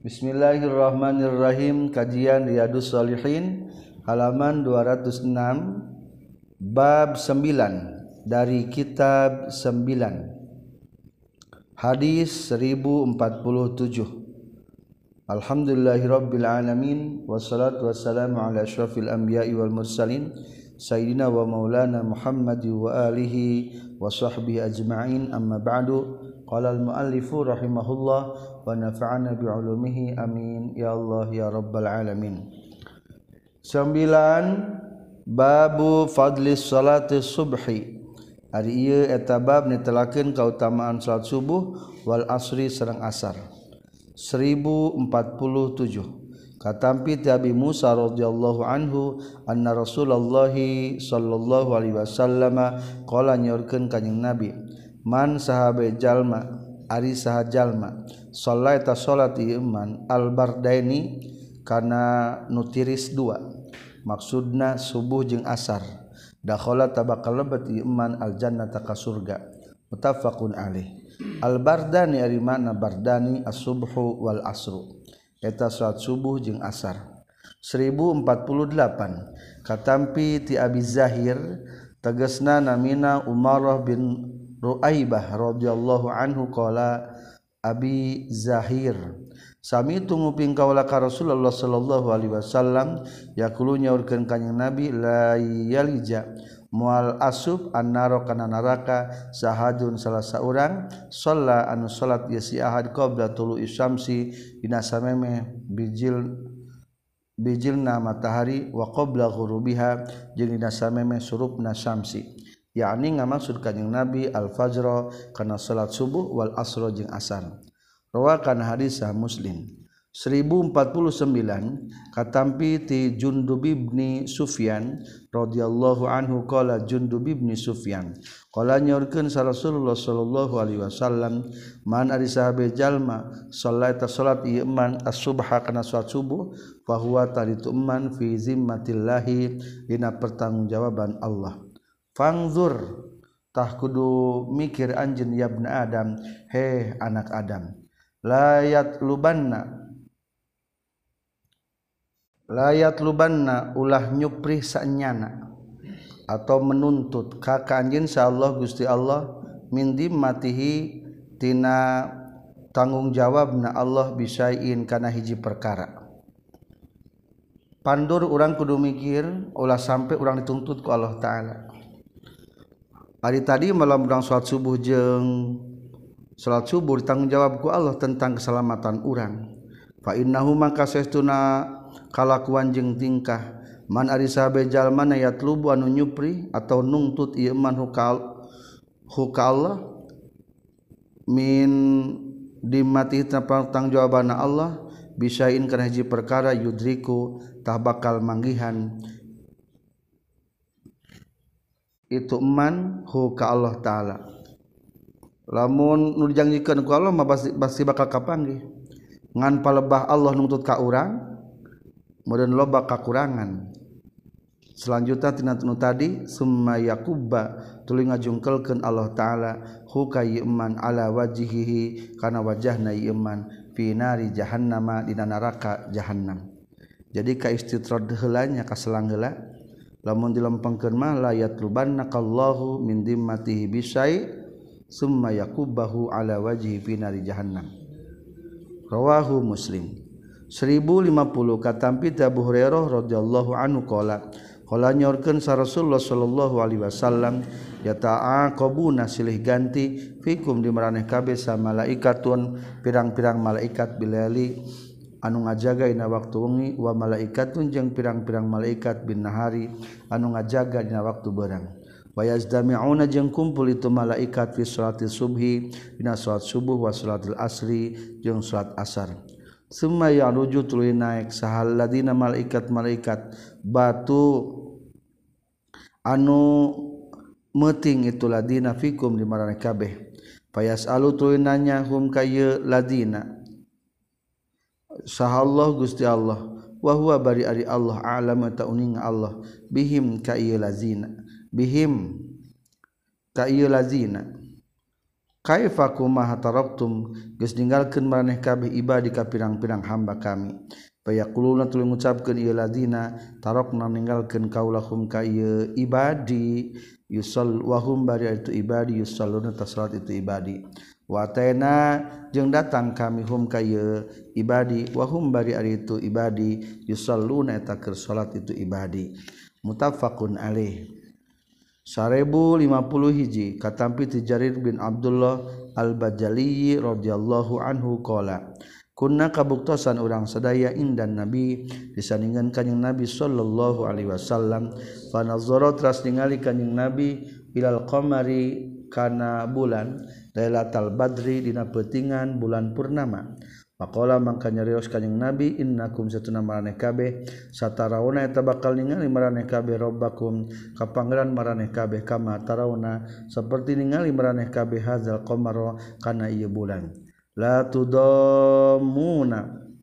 Bismillahirrahmanirrahim. Kajian Riyadhus Shalihin halaman 206 bab 9 dari kitab 9 hadis 1047. Alhamdulillahirabbil alamin wassalatu wassalamu ala asyrafil anbiya'i wal mursalin sayyidina wa maulana Muhammad wa alihi wa sahbihi ajma'in, amma ba'du. Qala al-muallifu rahimahullah wa nafa'ana bi'ulumihi amin ya Allah ya rabbal alamin. 9 babu fadlis salati subhi. Ari ieu eta bab netelakeun kautamaan salat subuh wal asri sareng asar. 1047 katampi ti Abi Musa radhiyallahu anhu anna Rasulullah sallallahu alaihi wasallam qala nyorkeun kanjing Nabi, man sahabe jalma ari saha jalma sholaita salat iman albardaini kana nu tiris dua, maksudna subuh jeung asar, dakhala tabakal lebet iman aljannata ka surga, muttafaqun alaih. Al-bardani ari makna bardani as-subhu wal asru eta salat subuh jeung asar. 1048 katampi ti Abi Zahir tegasna namina Umarah bin Ruaibah radhiyallahu anhu qala Abi Zahir sami tunguping kaula ka Rasulullah sallallahu alaihi wasallam yaqulu nyaurkeun kanjing Nabi la yalija mual asub annaro kana neraka sahadun salah saurang shalla anu salat ieu si ahad qabla tulu'i syamsi dina samemeh bijilna matahari wa qabla ghurubiha jeung dina samemeh surupna syamsi, yakni ngamaksud kanjing Nabi al-fajr kana salat subuh wal asr jeung asar. Rawakan hadis Muslim. 1049 katampi ti Jundub bin Sufyan radhiyallahu anhu qala Jundub bin Sufyan qala nyorkeun sa Rasulullah sallallahu alaihi wasallam, man ari sahabe jalma sholaita salat ieu man as-subha kana salat subuh fa huwa taritu man fi zimmatillahi dina pertanggungjawaban Allah. Fangzur tah kudu mikir anjeun ya ibnu Adam, he anak Adam, layat lubanna ulah nyupri saenyana atau menuntut ka anjeun sa Allah Gusti Allah min dimmatihi tina tanggung jawabna Allah bisain kana hiji perkara. Pandur urang kudu mikir ulah sampai urang dituntut ku Allah taala. Hari tadi malam urang salat subuh jeung salat subuh ditanggung jawab ku Allah tentang keselamatan urang. Fa innahu maka saestuna kalakuan jeung tingkah man ari sahabe jalma yatlubu anu nyupri atau nungtut ieu man hukal Allah min dimati tanggung jawabana Allah bisain kana hiji perkara yudriku tah bakal manggihan itu man hu ka Allah taala. Lamun nu dijanjikeun ku Allah mah pasti bakal kapanggih. Ngan palebah Allah nuntut ka urang meureun loba kakurangan. Selanjutnya tina nu tadi summa yakubba tuluy ngajungkelkeun Allah taala hu ka iman ala wajhihi kana wajahna iman fi nari jahannama dina neraka jahannam. Jadi ka istitrad heula nya ka selang heula lamun dilempengkeun mah la yatlubannakallahu min dimmatihi bisai summa yakubbahu ala wajhi fi nari jahannam. Rawahu Muslim. 1050 katampi Abu Hurairah radhiyallahu anhu qala nyorkeun sa Rasulullah sallallahu alaihi wasallam yata'aqabuna silih ganti fikum di maraneh kabeh sa malaikatun pirang-pirang malaikat bilali anu ngajaga dina waktu wengi wa malaikatun jeung pirang-pirang malaikat bin nahari anu ngajaga dina waktu beurang. Wa yazdami'una jeung kumpul itu malaikat fi salatil subhi dina salat subuh wa salatil asri jeung salat asar. Summa yaruju tuluy naik sahal ladina malaikat batu anu meuting itu ladina fikum di maraneh kabeh. Fayasalu tuluy nanya hum ka ieu ladina sahallahu Gusti Allah wa huwa bari ari Allah a'lam ta uning Allah bihim ka ieu lazina kaifa kumaha taraktum geus ninggalkeun maraneh kabeh ibadi ka pirang-pirang hamba kami fayaquluna tuluy ngucapkeun ieu ladina tarakna ninggalkeun kaulahum ka ieu ibadi yusall wa hum bari itu ibadi yusalluna ta salat itu ibadi wa taina jeung datang kami hum ka ieu ibadi wa hum bari itu ibadi yusalluna eta keur salat itu ibadi muttafaqun alaih 1050 hiji katampi ti Jarir bin Abdullah Al-Bajali radhiyallahu anhu qala kunna kabuktosan urang sadaya indan nabi disandingan kanjing nabi sallallahu alaihi wasallam fa nazara teras ningali kanjing nabi ilal qamari kana bulan lailatul badri dina peutingan bulan purnama Maqala mangka nyarios kanjing Nabi innakum satuna maraneh kabeh satarawna eta bakal ningali maraneh kabeh robbakum ka pangeran maraneh kabeh kama tarawna saperti ningali maraneh kabeh hadzal qamara kana ieu bulan la tudammuna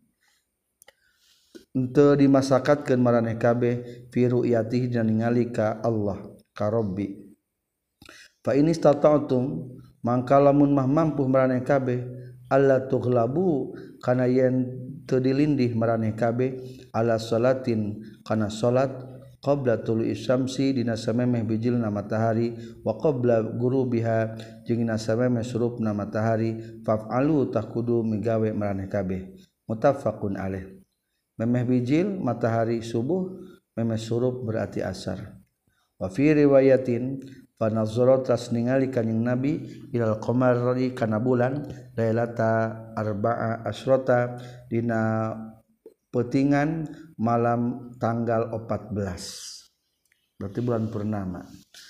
henteu dimasakatkeun maraneh kabeh fi ru'yatihi dina ningali ka Allah ka Rabbi fa in istata'tum mangka lamun mah mampu maraneh kabeh alla tughlabu kana yen teu dilindih maraneh kabeh ala salatin kana salat qabla tulu'i syamsi dina samemeh bijilna matahari wa qabla gurubiha jeung dina samemeh surupna matahari faf'alu takudu migawe maraneh kabeh muttafaqun alaih memeh bijil matahari subuh memeh surup berarti asar wa fi riwayatin panazara tas ningali kanjing nabi ilal qamari kana bulan lailata arba'a asrota dina peutingan malam tanggal 14 berarti bulan purnama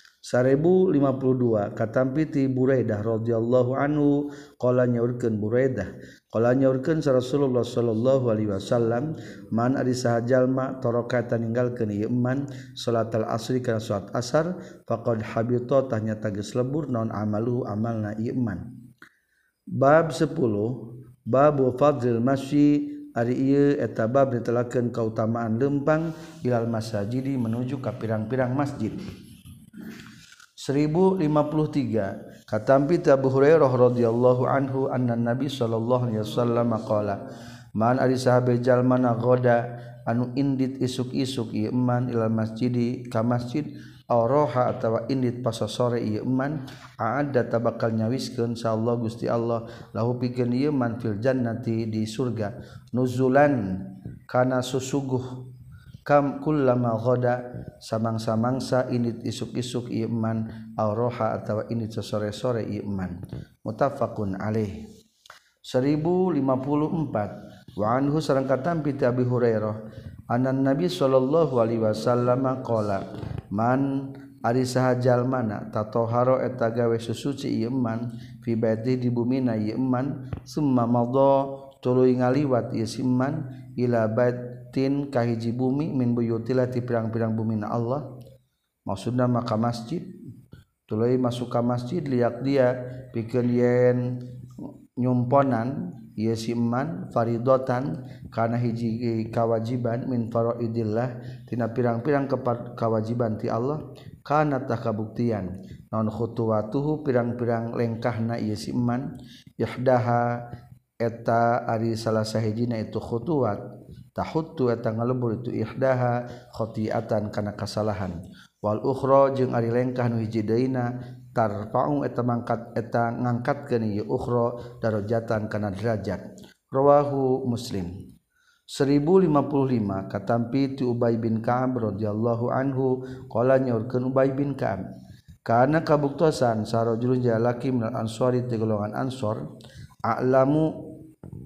1052 katampi ti Buraidah radhiyallahu anhu qala nyaurkeun Buraidah qala nyaurkeun Rasulullah sallallahu alaihi wasallam man ari saha jalma taraka ninggalkeun ieu eman salatul asri kana salat asar faqad habita tanya geus lebur naon amalu amalna ieu eman bab 10 bab fadlil masyi ari ieu eta bab ditelakeun kautamaan lempang ilal masajidi menuju ka pirang-pirang masjid 1053 katampi Abu Hurairah radhiyallahu anhu anna Nabi sallallahu alaihi wasallam qala man ari sahabe jalma nagoda anu indit isuk-isuk ieu eman ilal masjidi ka masjid auroha atawa indit pas sore ieu eman aadda tabakal nyawiskeun insyaallah Gusti Allah lahu pikeun ieu man fil jannati di surga nuzulan kana susuguh kam kullama ghada samang-samangsa init isuk-isuk ieu eman auroha atawa init sore-sore ieu eman muttafaqun alaih 1054 wa anhu sareng katampi ti Abi Hurairah anan Nabi sallallahu alaihi wasallam qala man ari saha jalmana tatoharo eta gawe susuci ieu eman fi baiti di bumina ieu eman summa madha tuluy ngaliwat ieu siman ila baitin kahiji bumi min buyutillah ti pirang-pirang bumina Allah maksudna maka masjid tuluy masuk ka masjid liak dia pikeun yen nyumponan ieu siman faridatan kana hiji kawajiban min faraidillah tina pirang-pirang kewajiban ti Allah kana tah kabuktian naon khutuwatuhu pirang-pirang lengkahna ieu siman yahdaha eta ari salah sahijina itu khutuwat tahuttu eta ngalebur itu ihdaha khati'atan kana kasalahan wal ukhra jeung ari lengkah nu hiji deuna tarfa'u eta mangkat eta ngangkatkeun ieu ukhra darajatan kana derajat rawahu Muslim 1055 katampi ti Ubay bin Ka'ab radhiyallahu anhu qala nyaurkeun Ubay bin Ka'ab kana kabuktosan sarojulun jalaki minal ansori ti golongan ansor a'lamu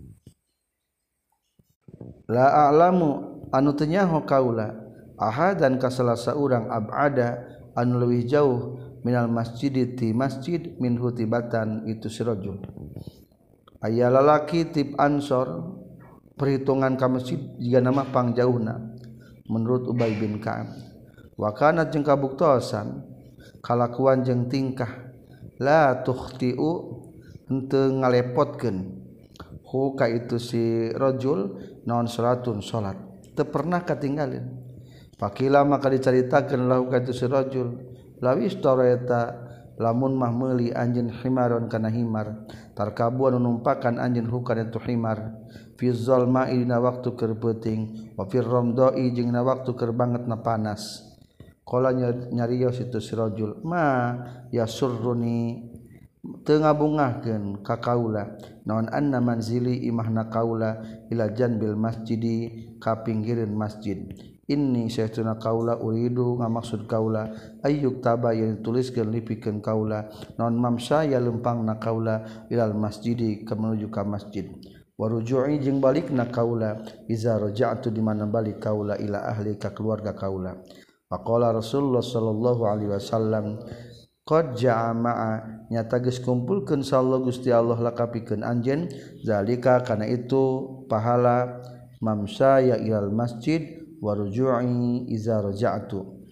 la a'lamu anu teu nyaho kaula ahadan ka salah saurang abada anu leuwih jauh minal masjid ti masjid min hutibatan itu sirajul aya lalaki tip ansor perhitungan ka masjid jiga nama pangjauhna menurut Ubay bin Ka'ab wa kana jeung kabuktosan kalakuan jeung tingkah la tukhtiu henteu ngalepotkeun hu ka itu si rajul naon salatun salat teu pernah katinggalin pakila maka dicaritakeun lahu ka itu si rajul lawis tareta lamun mah meuli anjeun himaron kana himar tarkabu anu numpakan anjeun hukana tu himar fi zalma dina waktu keur peuting wa fir ramdai jeung na waktu keur bangetna panas qala nyarios itu sirajul ma yasurruni teu ngabungahkeun ka kaula naon anna manzili imahna kaula ila janbil masjidi ka pinggireun masjid inni saytuna kaula uridu ngamaksud kaula ayyuk taba yang dituliskeun lipikeun kaula naon mamsa ya lempangna kaula ilal masjidi ka menuju ka masjid waruju'i jeung balikna kaula iza raja'tu di mana balik kaula ila ahli ka keluarga kaula faqala Rasulullah sallallahu alaihi wasallam qad jama'a nyata geus kumpulkeun sallallahu Gusti Allah lakapikeun anjeun zalika kana itu pahala mamsa ya ilal masjid waruju'i iza raja'tu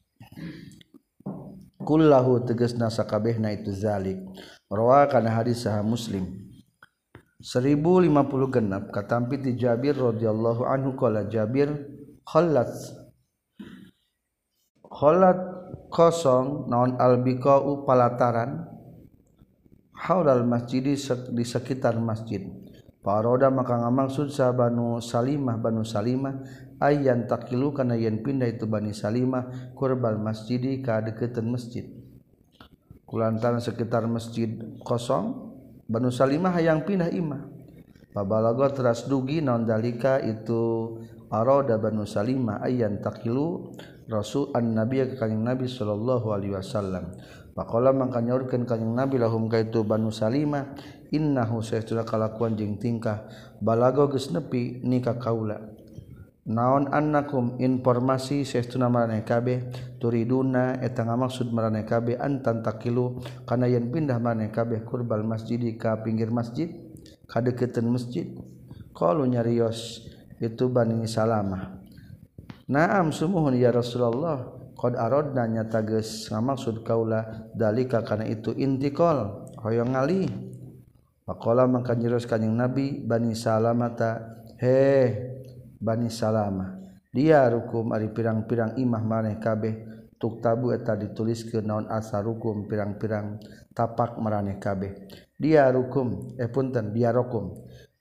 kullahu tegasna sakabehna itu zalik rawa kana hadis sahih Muslim 1056 katampi ti Jabir radhiyallahu anhu qala Jabir khallat kosong naon albiqa'u palataran haulal masjidi di sekitar masjid paroda maka ngamaksud sa Banu Salimah ayyan takilu kana yen pindah itu Bani Salimah kurbal masjidi ka deukeuteun masjid kulantaran sekitar masjid kosong Banu Salimah hayang pindah imah pabalaga teras dugi naon dalika itu aroda Banu Salimah ayyan takilu Rasul an-Nabi ka kanjing Nabi sallallahu alaihi wasallam. Faqala mangka nyaurkeun kanjing Nabi lahum kaitu Banu Salimah innahu saytuna kalakuan jeung tingkah balago geus nepi nikah kaula. Naon annakum informasi saytuna maraneh kabeh turiduna eta ngamaksud maraneh kabeh antan takilu kana yen pindah maraneh kabeh kurbal masjidi ka pinggir masjid ka deukeuteun masjid. Qalu nyarios itu Bani Salamah. Naam sumuhun ya Rasulullah qad aradna nyata geus ngamaksud kaula dalika kana itu intiqal hoyong ngalih faqala mangka nyeros kanjing Nabi Bani Salamata he Bani Salamah dia rukum ari pirang-pirang imah maneh kabeh tuktabu eta dituliskeun naon asarukum pirang-pirang tapak maraneh kabeh dia rukum punten dia rokum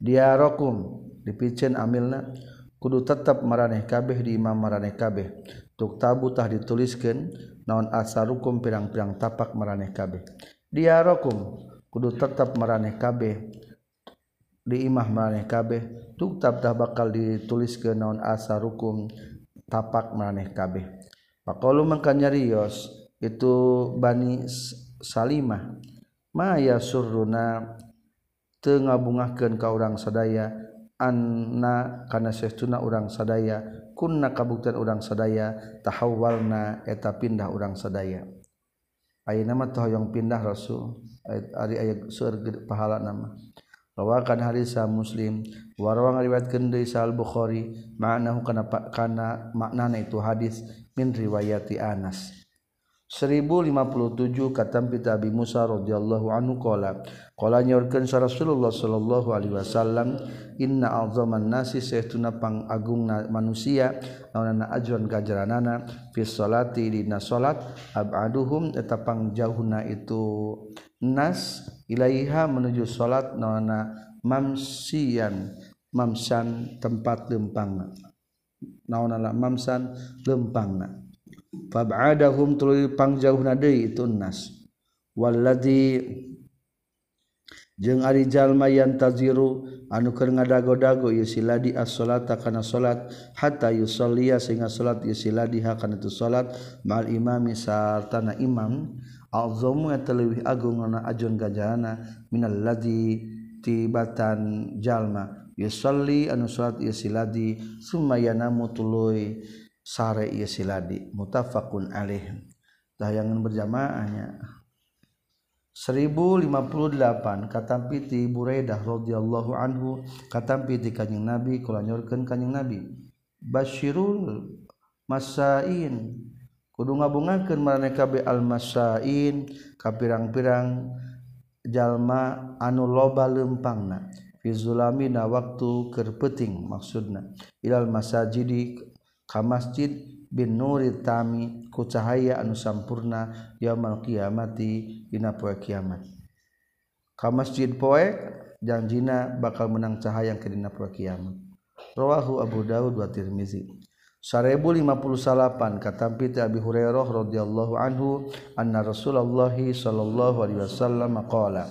dipiceun amilna kudu tetap maraneh kabeh di imam maraneh kabeh tuk tabu tah dituliskeun naon asarukum pirang-pirang tapak maraneh kabeh diarokum kudu tetap maraneh kabeh di imah maraneh kabeh tuk tab tah bakal dituliskeun naon asarukum tapak maraneh kabeh faqalu mangka nyarios itu Bani Salimah ma yasurruna teu ngabungahkeun ka urang sadaya anna kana saestuna urang sadaya kunna kabuktian urang sadaya tahawwalna eta pindah urang sadaya ayeuna mah hoyong pindah Rasul ari aya seueur pahala nama rawakan hadis Muslim warawang riwayatkeun deui Sahih Bukhari ma'nahu kana maknana itu hadis min riwayati Anas 1057 katampi Abi Musa radhiyallahu anhu qala nyaurkeun Rasulullah sallallahu alaihi wasallam inna a'zaman nasi saestuna pangagungna manusia naonana ajran kajaranana fi sholati dina salat abaduhum eta pangjauhna itu nas ilaiha menuju salat naonana mamsan tempat lempangna naonana mamsan lempangna fab'adahum tuluy pangjauhna deui itu nas walladzi jeung ari jalma yantaziru anu keur ngadago-dago ieu siladi as-salata kana salat hatta yusalliya sehingga salat ieu siladiha kana tu salat ma'al imami sartana imam azamu eta leuwih agung na ajon ganjaranna minal ladzi tibatan jalma yusalli anu salat ieu siladi summa yanamu tuluy sare ieu siladi muttafaqun alaih tayangan berjamaahnya 1058 katampi ti Buraidah radhiyallahu anhu katampi ti kanjing Nabi kula nyorkeun kanjing Nabi basyirul masain kudu ngabungakeun maraneh kabeh al masain ka pirang-pirang jalma anu loba leumpangna fi zulamina waktu keur peuting maksudna ilal masajidi ka masjid bin nuri tami ku cahaya anu sampurna yaumul qiyamati dina poe kiamat ka masjid poe janjina bakal menang cahaya ke dina poe kiamat rawahu Abu Daud wa Tirmizi 1058 katampi ti Abi Hurairah radhiyallahu anhu anna Rasulullah sallallahu alaihi wasallam qala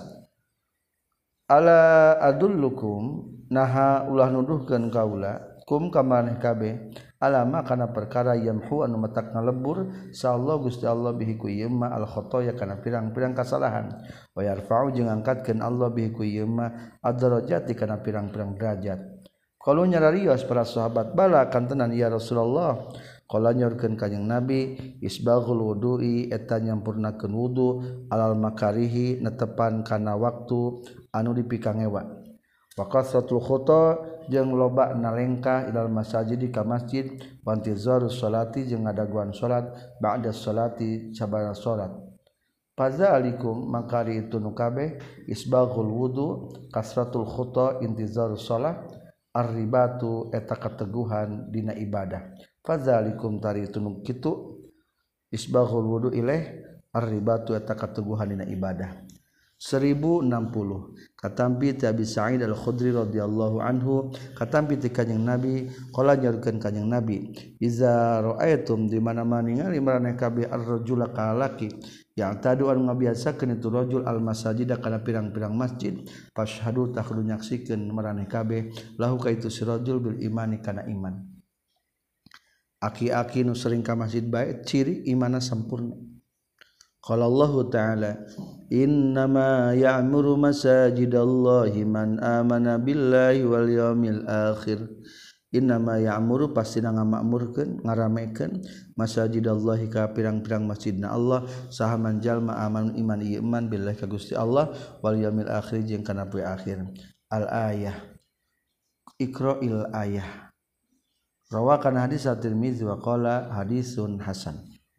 ala adullukum naha ulah nuduhkeun kaula kum ka maneh kabeh alama kana perkara yamhu anu matak ngalebur sallallahu Gusti Allah bihi ku ieu ma al khotoya kana pirang-pirang kasalahan wa yarfa'u jeung angkatkeun Allah bihi ku ieu ma ad-darajati kana pirang-pirang derajat. Kalau nyararios para sahabat bala kantenan ya Rasulullah qala nyorkeun kanjing Nabi isbaghul wudu'i eta nyampurnakeun wudu alal makarihi netepan kana waktu anu dipikangewa wa kasratul khuta jeung loba nalengkah ilal masajid ka masjid wa intizarus salati jeung ngadaguan salat ba'da salati sabana salat fadzalikum makari itu nu kabeh isbaghul wudu kasratul khuta intizarus salat ar-ribatu eta kateguhan dina ibadah fadzalikum tari tunuk kitu isbaghul wudu ilaih ar-ribatu eta kateguhan dina ibadah 1060 katampi ti Abi Sa'id Al-Khudri radhiyallahu anhu katampi ti kanjing Nabi qala nyaurkeun kanjing Nabi iza ra'aitum di mana-mana ningali maraneh kabeh ar-rajula ka lalaki yang tadu anu ngabiasakeun itu rajul al-masajid kana pirang-pirang masjid fashhadu takhlu nyaksikeun maraneh kabeh lahu ka itu si rajul bil imani kana iman aki-aki nu sering ka masjid bae ciri imanna sampurna qala Allah ta'ala innama ya'muru masajidallahi man amana billahi wal yaumil akhir innama ya'muru pastina ngamakmurkeun ngaramekeun masajidallahi ka pirang-pirang masjidna Allah saha man jalma aman iman ieu iman billahi ka Gusti Allah wal yaumil akhir jeung kana poe akhir al ayah iqra'il ayah rawakan hadis at-Tirmizi wa qala hadisun hasan.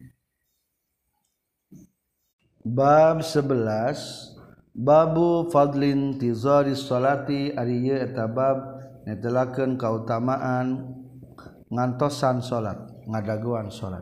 Bab 11 Babu fadlin tizaris salati ari ieu eta bab netelakeun kautamaan ngantosan salat ngadaguan salat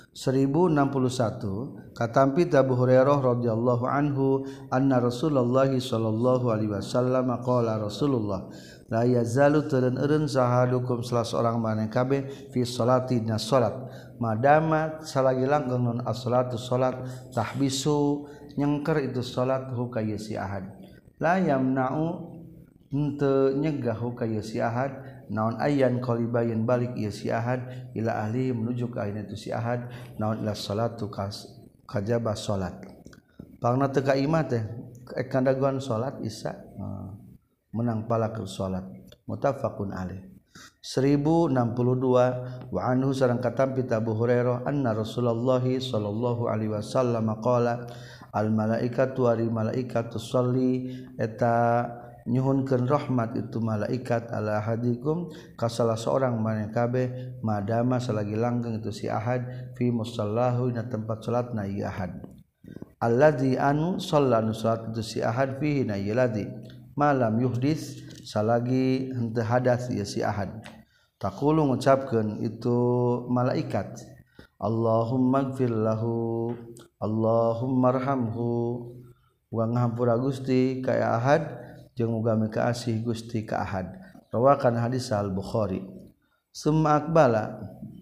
1061 katampi Abu Hurairah radhiyallahu anhu anna Rasulullah sallallahu alaihi wasallam qala Rasulullah la yazalu teureun sahadukum salah seorang maneh kabeh fi salati na salat madama salagi langgeng non as-salatu salat tahbisu nyengker itu salat hu ka si ahad la yamna'u henteu nyegah hu ka si ahad naon ayyan qalibayin balik ieu si ahad ila ahli menuju ka ayeuna itu si ahad naon ila salatu kajaba salat pangna teu ka imah teh kandaguan salat isya menang palakeun salat muttafaqun alaih 1062 wa anhu sareng katampi Abu Hurairah anna Rasulullah sallallahu alaihi wasallam qala al malaikatu ari malaikatu sholli eta nyuhunkeun rahmat itu malaikat ala hadikum ka salah seorang maneh kabeh madama salagi langgeng itu si ahad fi musallahu na tempat salatna ieu ahad alladzi anu shallanu salat itu si ahad fihi na ieu ladzi malam yuhdis salagi henteu hadas ieu si ahad taqulu ngucapkeun itu malaikat Allahumma ighfir lahu Allahumma arhamhu wa ngahampura Gusti ka ahad jeung muga mikaasih Gusti ka ahad rawakan hadis al-Bukhari summa aqbala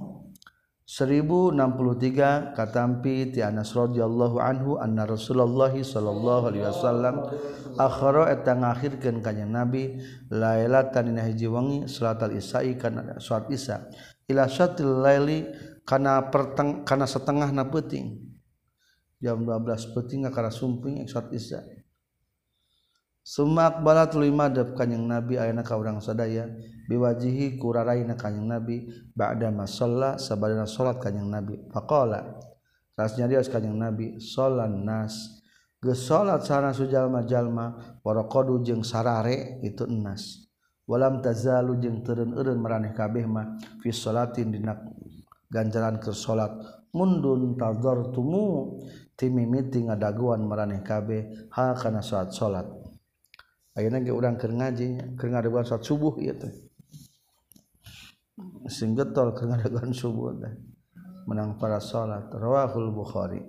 1063 katampi ti Anas radhiyallahu anhu anna Rasulullah sallallahu alaihi wasallam akhara eta ngakhirkeun kanjing Nabi lailatan dina hiji wengi salatul isya'i kana salat isya ila syatil laili kana setengahna peuting jam 12 peuting kana sumping salat isya summa aqbala tuluy madep kanjing Nabi ayeuna ka urang sadaya biwajihi kuraraina kanjing Nabi ba'da masalla sabadana salat kanjing Nabi faqala rasnya dia kanjing Nabi sholan nas geus salat sareng sujalma-jalma waraqadu jeung sarare itu enas walam tazalu jeung teureun-eureun maraneh kabeh mah fi sholatin dina ganjaran keur salat mundun tadzartumu ti mimiti ngadaguan maraneh kabeh ha kana salat ayeuna ge urang keur ngaji keur ngadaguan salat subuh ieu teh sing getol keur ngadaguan subuh teh menang para salat rawahul Bukhari.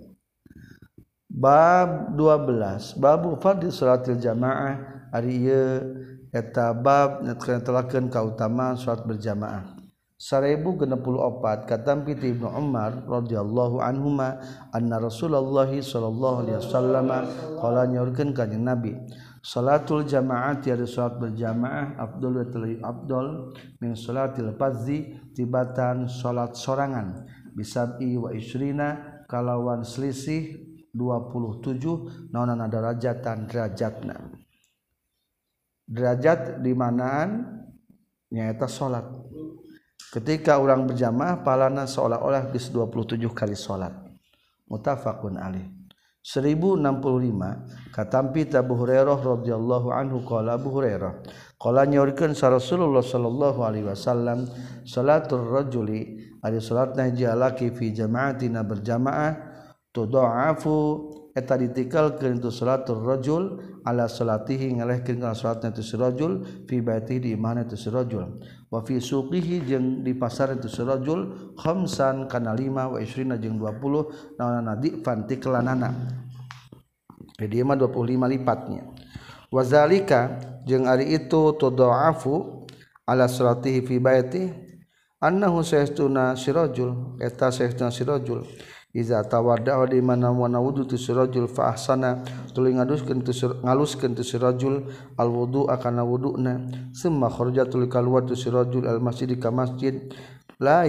Bab 12 babu fadil salatil jamaah ari ieu eta bab netelakeun kautamaan salat berjamaah. 1064 katampi ti Ibnu Umar radhiyallahu anhuma anna Rasulullah sallallahu alaihi wasallam qala nyorkeun ka Nabi salatul jamaah tiada salat berjamaah afdal min salatil fardhi tibatan salat sorangan bisabi wa isrina kalawan selisih 27 naonana derajatan derajatna derajat di manaan nyaeta salat. Ketika orang berjamaah palana seolah-olah geus 27 kali salat. Muttafaqun alaih. 1065 katampi Abu Hurairah radhiyallahu anhu qala Abu Hurairah qala nyorikeun sa Rasulullah sallallahu alaihi wasallam salatul rajuli ari salatna hiji laki fi jama'atina berjamaah tudha'afu eta ditikalkeun itu salatul rajul ala salatihi ngalehkeun kana salatna itu si rajul fi baitihi di imahna itu si rajul wa fi suqihi jeung di pasar itu si rajul khamsan kana 5 wa 20 jeung 20 naonana difan tiklanana jadi mah 25 lipatnya wazalika jeung ari itu tudha'afu ala salatihi fi baitihi annahu sayastuna si rajul eta sayastuna si rajul iza tawadda di mana wana wudu tu sirajul fa ahsana tuluy ngaluskeun tu sirajul al wudu akana wuduna summa kharaja tuluy kaluar tu sirajul al masjid ka masjid la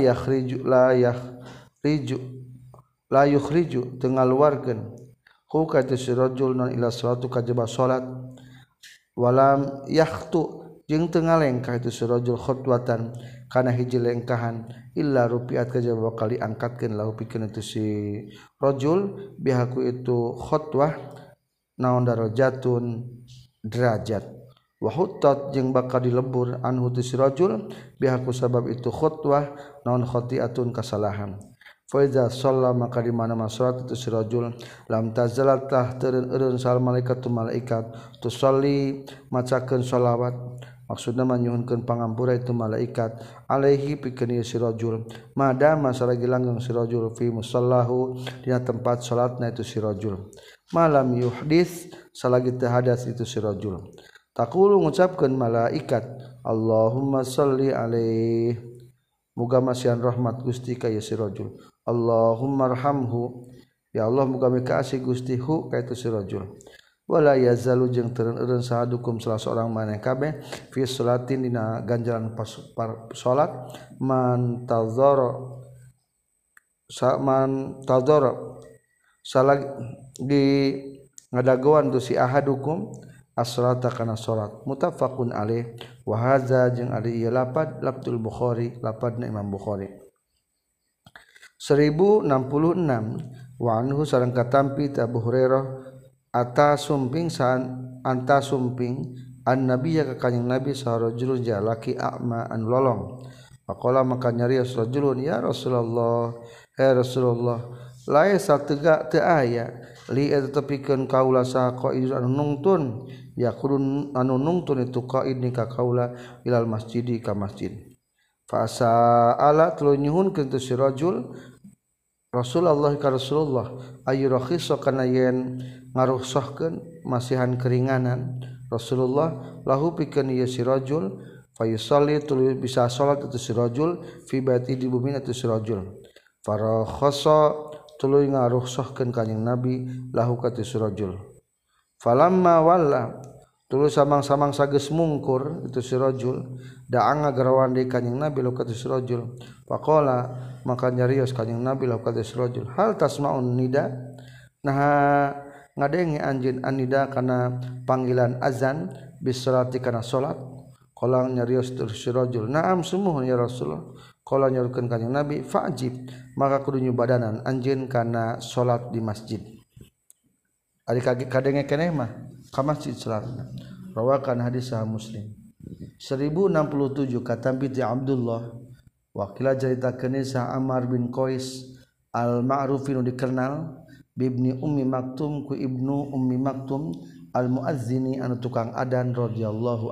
yukhriju tengaluarkeun hu ka tu sirajul non ila salatu kajaba salat walam yakhtu jeung teu ngalengkah itu sirajul khutwatan kana hiji lengkahan illa rupiat kajaba kali angkatkeun lahu pikeun itu si rajul bihaku itu khutwah naon darajatun derajat wa huttat jeung bakal dilebur anhu tu si rajul bihaku sabab itu khutwah naon khati'atun kasalahan fa iza shalla maka di mana salat itu si rajul lam tazalat tah teureun sal malaikatu malaikat tusalli macakeun shalawat maksudna manyuhunkeun pangampura itu malaikat alaihi pikeun si rajul madama saragi langgeng si rajul fi musallahu dina tempat salatna itu si rajul malam yuhdits salagi teu hadas itu si rajul taqulu ngucapkeun malaikat Allahumma shalli alaihi muga masihan rahmat Gusti ka si rajul Allahumma arhamhu ya Allah muga mikaasih Gusti hu ka itu si rajul wala yazalu jeung teureun sahadukum salah seorang maneh kabeh fi salatin dina ganjaran salat man tadzara salagi di ngadagoan tu si ahadukum as-salata kana salat muttafaqun alaih wa hadza jeung ari ieu lapad lafzul Bukhari lapadna Imam Bukhari 1066 wa anhu sareng katampi Abu Hurairah ata sumping anta sumping an nabiyya ka kanjing nabi sarajulun jalaki a'ma an lolong faqala maka nyarios rajulun ya Rasulullah ya Rasulullah lae satega teu aya li eta tepikeun kaula saha qaid anu nungtun ya kurun anu nungtun itu qaid ni ka kaula ilal masjidi ka masjid fa sa'ala tuluy nyuhunkeun tu si rajul Rasulullah ka Rasulullah ayu rakhisa kana yen ngaruhsahkeun masihan keringanan Rasulullah lahu pikeun ieu si rajul fayusalli tuluy bisa salat itu si rajul fi baiti di bumi itu si rajul farakhasa tuluy ngaruhsahkeun kanjing Nabi lahu ka tu si rajul falamma walla tuluy samang-samang sageus mungkur itu si rajul da'a ngagarawan deui kanjing Nabi lahu ka tu si rajul faqala maka nyarios kanjing Nabi lahu ka tu si rajul hal tasma'un nida nah ngadenge anjeun anida kana panggilan azan bisolati kana salat qala nyarios si rajul na'am sumuhun ya Rasulullah qala nyarukeun kanjing Nabi fa'jib maka kudu nyubadanan anjeun kana salat di masjid ari kadenge keneh mah ka masjid salatna rawakan hadis sahih Muslim 1067 katampi ti Abdullah wakila jaritakeun sa Ammar bin Qais al-ma'ruf nu dikenal bibni ummi maktum ku ibnu ummi maktum al muazzini anu tukang adan radhiyallahu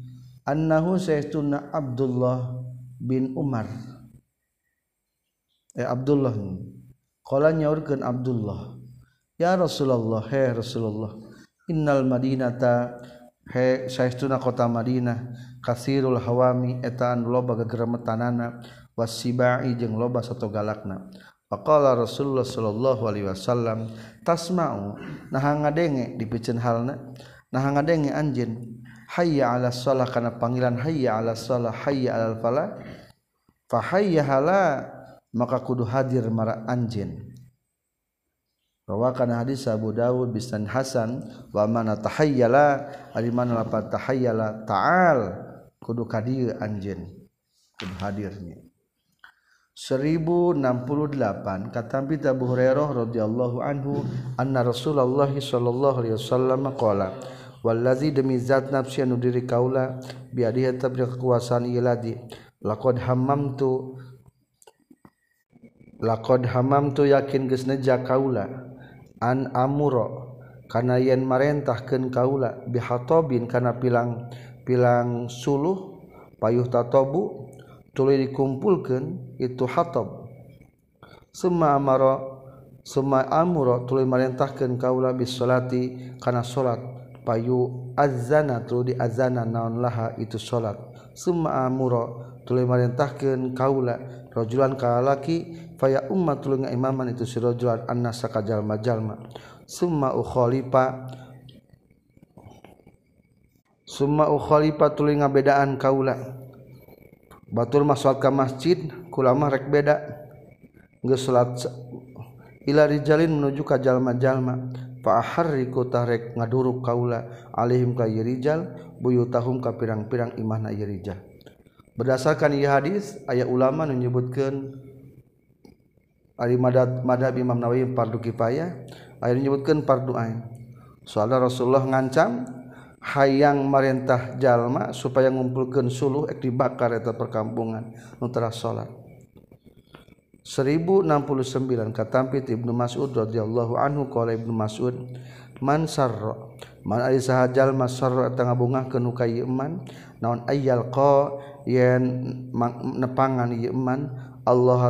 annahu sayyiduna Abdullah bin Umar Abdullah qala nyaurkeun Abdullah ya Rasulullah he Rasulullah innal madinata he saestuna kota Madinah kasirul hawami eta anu loba gegeremetanana wasibai jeung loba sato galakna faqala Rasulullah sallallahu alaihi wasallam tasma'u naha ngadenge dipikeun halna naha ngadenge anjeun hayya 'alas shalah kana panggilan hayya 'alas shalah hayya 'alal falah fa hayya hala maka kudu hadir mara anjeun rawakan hadis Abu Dawud bisan hasan wa mana tahayyala ari mana lapat tahayyala ta'al kudu kadir anjeun kudu hadirnya 1068 katampi Abu Hurairah radhiyallahu anhu anna Rasulullah sallallahu alaihi wasallam qala wallazi demi zat nafsi anu diri kaula biadihi tabri kekuasaan ieu ladi laqad hamamtu yakin geus neja kaula an amuro kana yen marentahkeun kaula bihatobin kana pilang suluh payuh tatobu tuluy dikumpulkeun itu hatob summa amuro tuluy marentahkeun kaula bis salati kana salat payu azana tuluy diazana naon laha itu salat summa amuro tuluy marentahkeun kaula rajulan ka lalaki faya ummat tuluy ngaimaman itu si rajulan annasa ka jalma-jalma summa ukhalifa tuluy ngabedaan kaula batur mah salat ka masjid kula mah rek beda geus salat ila rijalin menuju ka jalma-jalma fa aharriku tarek ngaduruk kaula alaihim ka rijal buyutahum ka pirang-pirang imahna rijal. Berdasarkan ieu hadis aya ulama nu nyebutkeun ari madhab Imam Nawawi fardu kifayah aya nyebutkeun fardu ain soalna Rasulullah ngancam hayang marentah jalma supaya ngumpulkeun suluh ek dibakar eta perkampungan nu teras salat 1069 katampit Ibnu Mas'ud radhiyallahu anhu qala Ibnu Mas'ud man ari saha jalma sarra eta ngabungahkeun ka ieu eman naon ayyal qa yen nepangan ieu eman Allah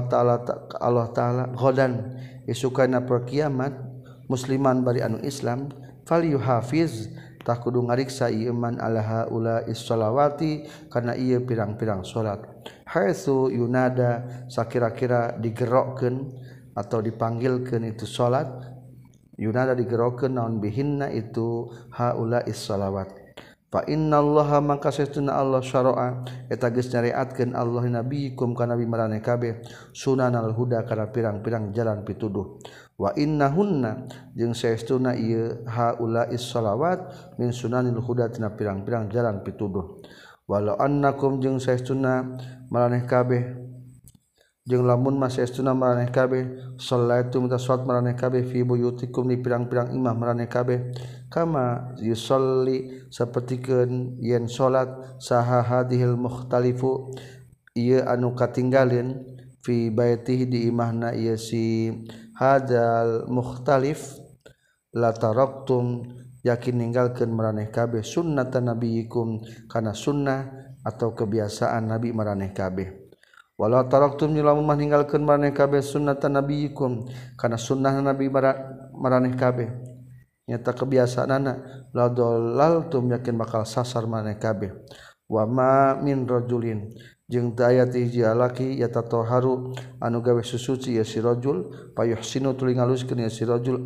taala ghadan isukana per kiamat musliman bari anu Islam falyuhafiz tah kudu ngariksa ieu eman ala haula is-shalawati kana ieu pirang-pirang salat haitsu yunada sakira-kira digerokkeun atau dipanggilkeun itu salat yunada digerokkeun naon bihinna itu haula is-shalawat fa innallaha maka satuna Allah syara'a eta geus nyariatkeun Allah nabiyikum ka nabi maraneh kabeh sunanal huda kana pirang-pirang jalan pituduh wa innahunna jeung saestuna ieu haula is-shalawat min sunanil huda tina pirang-pirang jalan pituduh walau annakum jeung saestuna maraneh kabeh jeung lamun mas saestuna maraneh kabeh shallaitum tasawat maraneh kabeh fi buyutikum di pirang-pirang imah maraneh kabeh kama yusolli sapertikeun yen salat saha hadhil mukhtalifu ieu anu katinggalin fi baitihi di imahna ieu si hadzal mukhtalif la taraktum yakin ninggalkeun maraneh kabeh sunnatan nabiyikum kana sunnah atau kebiasaan nabi maraneh kabeh wala taraktum lamun mah ninggalkeun maraneh kabeh sunnatan nabiyikum kana sunnah nabi maraneh kabeh nyata kebiasaanana la dalaltum yakin bakal sasar maraneh kabeh wa ma min rajulin jeung teu aya ti hiji lalaki yatatoharu anu gawe susuci ya si rajul payuhsinu tuluy ngaluskeun ya si rajul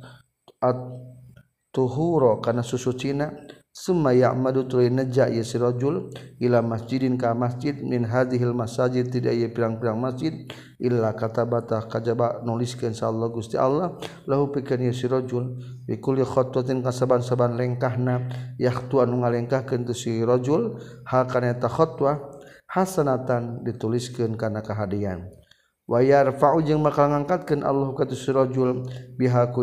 at tuhura kana susucina summa ya'madu tuluy neja ya si rajul ila masjidin ka masjid min hadhil masajid tidak ieu pirang-pirang masjid illa katabata kajaba nuliskeun insyaallah Gusti Allah lahu pikeun ya si rajul bi kulli khatwatin kasaban-saban lengkahna yahtu anu ngalengkahkeun tu si rajul hal kana eta khatwah hasanatan dituliskeun kana kahadian wa yarfa'u jeung bakal ngangkatkeun Allah ka tu si rajul bihaku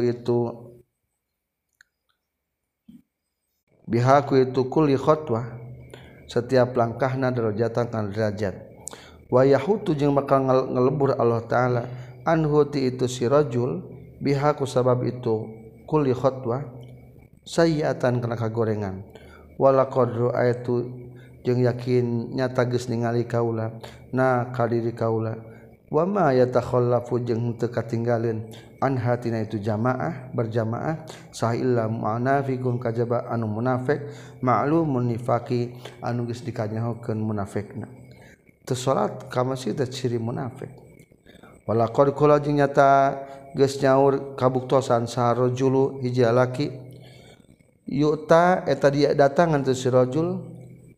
itu kulli khatwah setiap langkahna darajatan kana derajat wa yahutu jeung bakal ngelebur Allah taala anhu ti itu si rajul bihaku sabab itu kulli khatwah sayyiatan kana kagorengan wala qadru ayatu jeung yakin nyata geus ningali kaula na ka diri kaula wama yatakhallafu jeung teu katinggalin anha tina itu jamaah berjamaah sah illa munafiqun kajaba anu munafik ma'lumun nifaqi anu geus dikanyahokeun munafikna teu salat ka masjid teh ciri munafik wala qad qala jeung nyata geus nyaur kabuktosan sarojulu hiji lalaki yu'ta eta dia datangan teu si rajul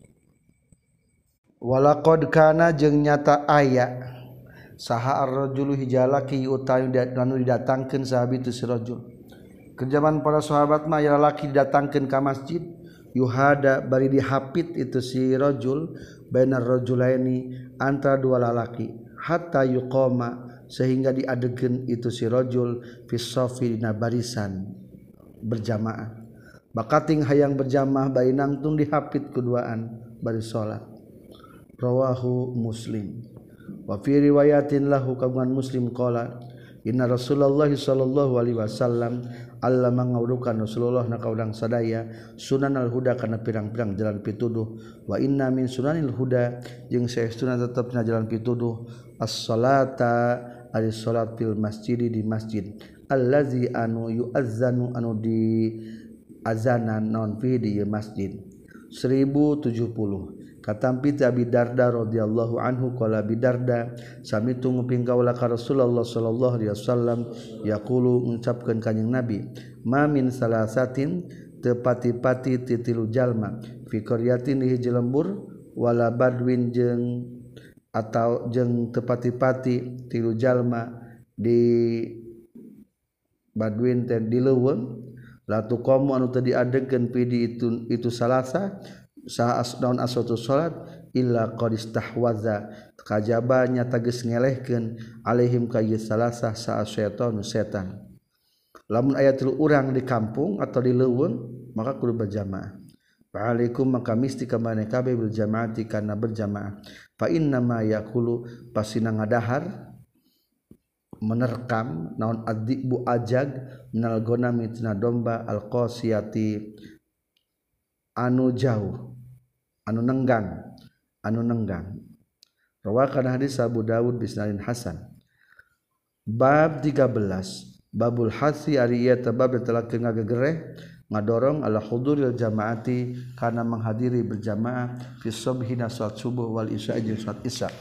wala qad kana jeung nyata aya saha ar-rajulu hijalaki utawi anu didatangkeun sahabi tu si rajul kerjaan para sahabat mah ya lalaki didatangkeun ka masjid yuhada bari dihapit itu si rajul bainar rajulaini antara dua lalaki hatta yuqama sehingga diadegeun itu si rajul fi shafi dina barisan berjamaah bakating hayang berjamaah bainang tung dihapit keduaan bari salat rawahu Muslim wa fi riwayatin lahu kagungan Muslim qala inna Rasulullah sallallahu alaihi wasallam allama ngaurukan Rasulullah na kaudang sadaya sunanal huda kana pirang-pirang jalan pituduh wa inna min sunanil huda jeung saestuna tetepna jalan pituduh as-salata ari salat fil masjid di masjid allazi anu yu'azzanu anu di azanan non fi di masjid 1070 katampi Abi Darda radhiyallahu anhu qala Abi Darda sami tu nguping kaula ka Rasulullah sallallahu alaihi wasallam yaqulu ngucapkeun kanjing Nabi ma min salasatin teu pati-pati titilu jalma fi qaryatin di hiji lembur wala badwin jeung atau jeung teu pati-pati tilu jalma di badwin teh di leuweung la tuqamu anu teu diadegeun pi di itu salasa saha asdaun asatu salat illa qad istahwaza kajaba nyata geus ngelehkeun alaihim ka ieu salasah sa syaitanu setan lamun aya tilu urang di kampung atau di leuweung maka kudu berjamaah fa'alaikum maka misti ka maneh kabeh bil jamaati kana berjamaah fa inna ma yaqulu pasina ngadahar menerkam naon adibu ajag minal gonami tina domba alqasiyati anu jauh anu nenggang rawakan hadis Abu Dawud bisnadin hasan bab 13 babul hasi ari ieu teh bab telah ngagegereh ngadorong ala huduril jamaati kana menghadiri berjamaah fi subhina salat subuh wal isya jeung salat isya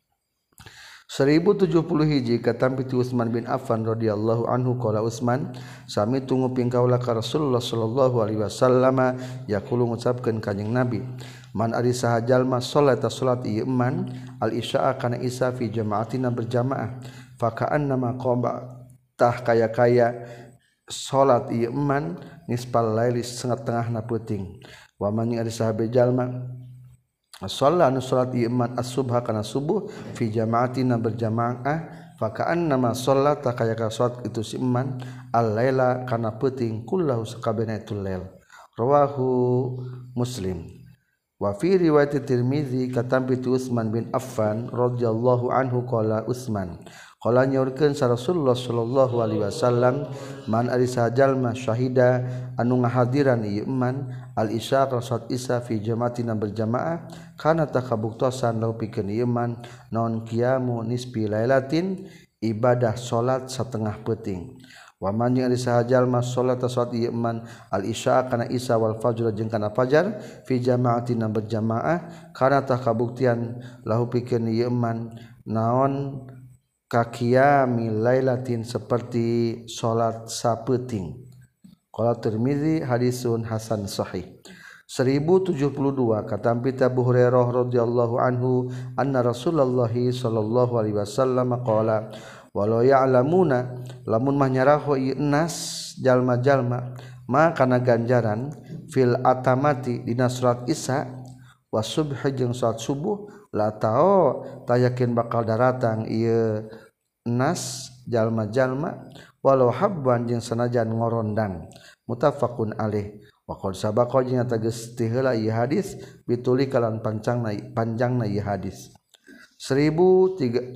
1071 katampi ti Utsman bin Affan radhiyallahu anhu qala Utsman sami tunggu pingkaula ka Rasulullah sallallahu alaihi wasallam yaqulu ngucapkeun kanjing Nabi man ari saha jalma salata salat ieu man al isya kana isya fi jamaatina berjamaah fa ka'anna ma qaba tah kaya-kaya salat ieu man nisfal laili setengah-tengahna peuting wa man ari saha jalma shalla anu salat iman as-subha kana subuh fi jamaatina berjamaah fa ka'anna ma shallata kaya ka salat itu si iman al-laila kana peuting kullahu sakabehna itu lail rawahu Muslim wa fi riwayat Tirmizi katampi tu Utsman bin Affan radhiyallahu anhu qala Utsman qala nyaurkeun sa Rasulullah sallallahu alaihi wasallam man ari sajalma syahida anu ngahadiran ieu iman al isya salat isya fi jamaatina berjamaah kana takabuktosan lau pikeun ieu iman non qiyamu nisfi lailatin ibadah salat setengah peuting wa man ari sajalma salat ieu iman al isya kana isya wal fajr jeung kana fajar fi jamaatina berjamaah kana takabuktian lahu pikeun ieu iman naon kakiyami lailatin seperti salat sapeuting qala Tirmizi hadisun hasan sahih 1072 katampi Abu Hurairah radhiyallahu anhu anna Rasulullah sallallahu alaihi wasallam qala walau ya'lamuna lamun mah nyaraho ieu nas jalma-jalma ma kana ganjaran fil atamati dina salat isya wa subh jeung salat subuh la tao tayakin bakal daratang ieu nas jalma-jalma walau habban jeung sanajan ngorondang muttafaqun alaih wa qad sabaqa jeung eta geus ti heula ieu hadis bituli kalan panjangna ieu hadis 1073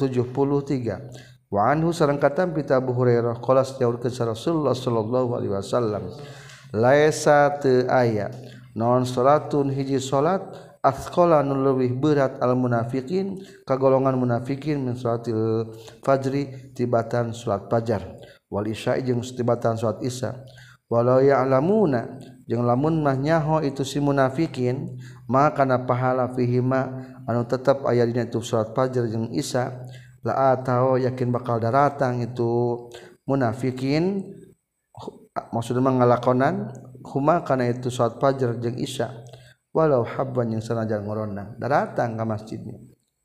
wa anhu sareng katam pita Abu Hurairah qala sayaurkeun Rasulullah sallallahu alaihi wasallam laisa teu aya naon salatun hiji salat asqala nu leuwih berat al munafiqin kagolongan munafikin min salatil fajri tibatan salat fajar wal isya jeung tibatan salat isya walau ya'lamuna jeung lamun mah nyaho itu si munafikin maka kana pahala fihima anu tetep aya dina itu salat fajar jeung isya la atau yakin bakal daratang itu munafikin maksudna ngalakonan huma kana itu salat fajar jeung isya walau habban yang sanajan ngorona datang ke masjidnya.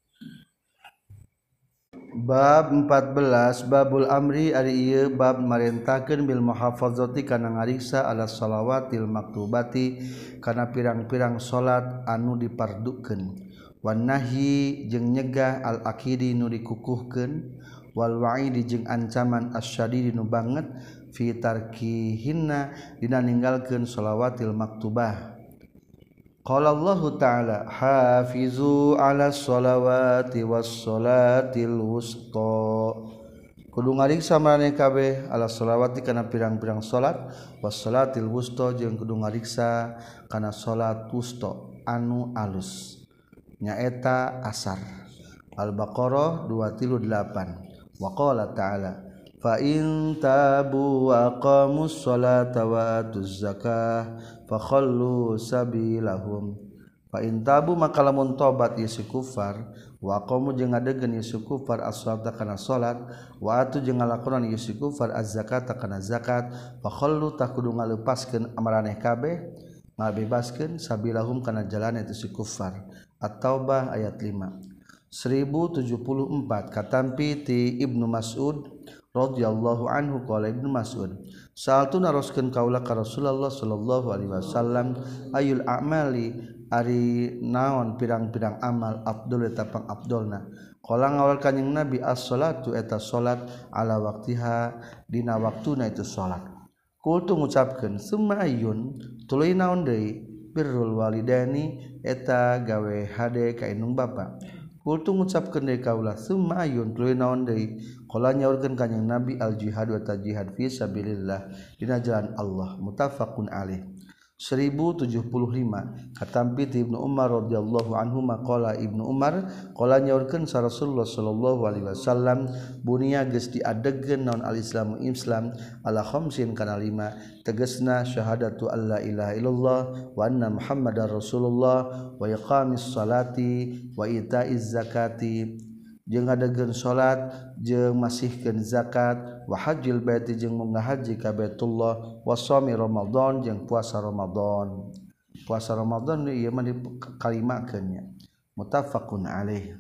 Bab 14 babul amri ari ieu bab marentakeun bil muhafazati kana ngariksa ala shalawatil maktubati kana pirang-pirang salat anu dipardukeun wan nahyi jeung nyegah al akidi nu dikukuhkeun wal wa'idi jeung ancaman asyadidi nu banget fi tarkihinna dina ninggalkeun shalawatil maktubah. Qala Allah Ta'ala hafizu ala sholawati was sholatil wusta kudu ngariksa maraneh kabeh ala sholawati kana pirang-pirang salat was sholatil wusta jeung kudu ngariksa kana salat wusta anu alus nyaeta asar Al-Baqarah 238 wa qala ta'ala fa in tabu wa aqamus sholata wa atuz zakah fakhallu sabilahum fa in tabu maka lamun tobat ieu si kufar wa aqamu jeung ngadegeun ieu si kufar as-sholata kana salat wa atu jeung ngalakonan ieu si kufar az-zakata kana zakat fakhallu tah kudu ngaleupaskeun amaraneh kabeh ngabebaskeun sabilahum kana jalan itu si kufar At-Taubah ayat 5 1074 katampi ti Ibnu Mas'ud radhiyallahu anhu qala Ibnu Mas'ud sa'altu naroskeun kaula ka Rasulullah sallallahu alaihi wasallam ayul a'mali ari naon pirang-pirang amal afdal eta pang afdalna qala ngawal kanjing Nabi as-shalatu eta salat ala waqtiha dina waktuna itu salat kultu ngucapkeun summa ayyun tuluy naon deui birrul walidaini eta gawe hade ka indung bapa kultu ngucapkeun deui kaula summa ayyun tuluy naon deui qala nyaurkeun kanjing Nabi al jihad wa tajihad fi sabilillah dina jalan Allah muttafaqun alaih 1075 katampi ti Ibnu Umar radhiyallahu anhu maqala Ibnu Umar qala nyaurkeun sa Rasulullah sallallahu alaihi wasallam bunia geus diadegeun naon al-islamu islam ala khamsin kana 5 tegasna syahadatu alla ilaha illallah wa anna muhammadar rasulullah wa iqamis salati wa itaiz zakati jeung ngadegeun salat jeung masihkeun zakat wa hajjil baiti jeung ngahaji ka Baitullah wa shaumi Ramadan jeung puasa Ramadan ieu mah dikalimakeunnya muttafaqun alaih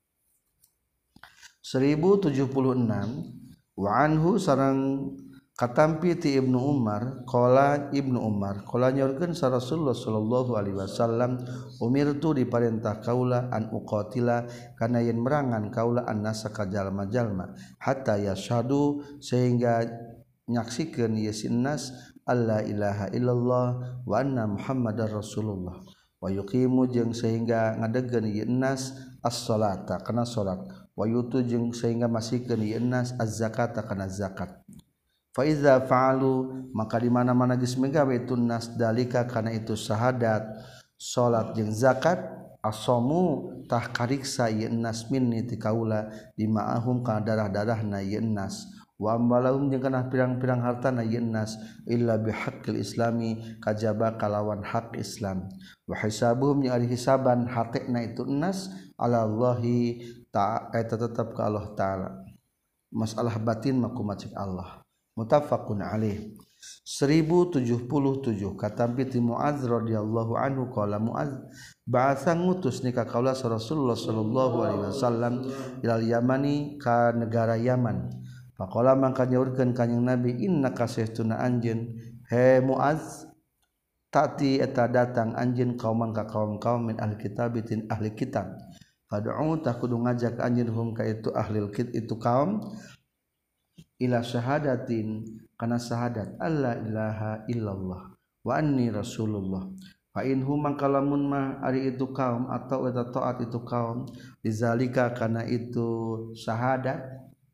1076 wa anhu sareng katampi ti Ibnu Umar qala Ibnu Umar qala nyorkeun sa Rasulullah sallallahu alaihi wasallam umirtu diparentah kaula an uqatila kana yen merangan kaula annasa ka jalma-jalma hatta yashhadu sehingga nyaksikeun ieu sinnas alla ilaha illallah wa anna muhammadar rasulullah wa yuqimu jeung sehingga ngadegeun ieu nas as-shalata kana salat wa yutu jeung sehingga masihkeun ieu nas az-zakata kana zakat fa iza fa'alu maka di mana-mana geus megawe tunnas dalika kana itu syahadat salat jeung zakat asamu tah kariksa ieu nas minni ti kaula di ma'ahum kana darah-darahna ieu nas wa ambalahum jeung kana pirang-pirang hartana ieu nas illa bihaqqil islami kajaba kalawan hak Islam wa hisabuhum jeung ari hisaban hatekna itu nas ala Allahi ta'ala tetep ka Allah taala masalah batin mah kumaha cek Allah muttafaqun alaih 1077 katampi ti Muadz radhiyallahu anhu qala Muadz ba'atsa ngutus ni ka kaula Rasulullah sallallahu alaihi wasallam ilal Yamani ka negara Yaman faqala mangka nyaurkeun kanjing Nabi innaka saestuna anjeun he Muadz tati eta datang anjeun kauman ka kaum-kaum min ahli kitab tin ahli kitab fad'u ta kudu ngajak anjeun hum ka itu ahli kitab itu kaum ila syahadatin kana syahadat alla ilaha illallah wa anni rasulullah fa in hum kalamun ma ari itu kaum atau eta taat itu kaum dizalika kana itu syahadat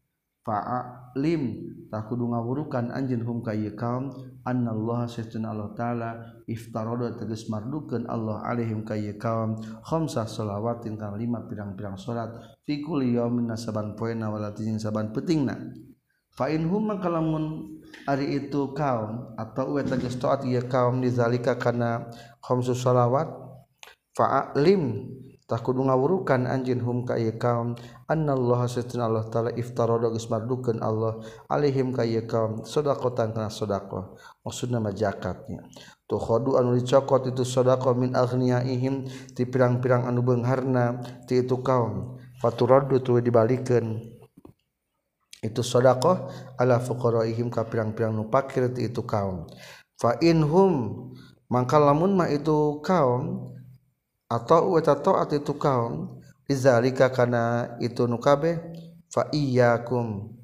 fa'alim tak kudu ngawurukan anjeun hum ka ieu kaum annallaha satuna Allah taala iftarada tegas mardukeun Allah alaihim ka ieu kaum khamsah shalawatin kana 5 pirang-pirang salat fi kulli yaumin saban poena walatin saban peutingna fa in hum kalamun ari itu kaum atau we tegas taat ieu kaum dizalika kana khamsus shalawat fa'alim tak kudu ngawurukan anjeun hum ka ieu kaum annallaha satuna Allah taala iftarada geus mardukeun Allah alaihim ka ieu kaum shadaqatan kana sedekah maksudna mah zakatnya tu khodu anu dicokot itu sedekah min aghniyaihim ti pirang-pirang anu beungharna ti itu kaum faturaddu tu dibalikeun itu sedekah ala fuqaraihim ka pirang-pirang nu fakir ti itu kaum fa inhum mangka lamun mah itu kaum atau eta taat itu kaum izalika kana itu nu kabeh fa iyyakum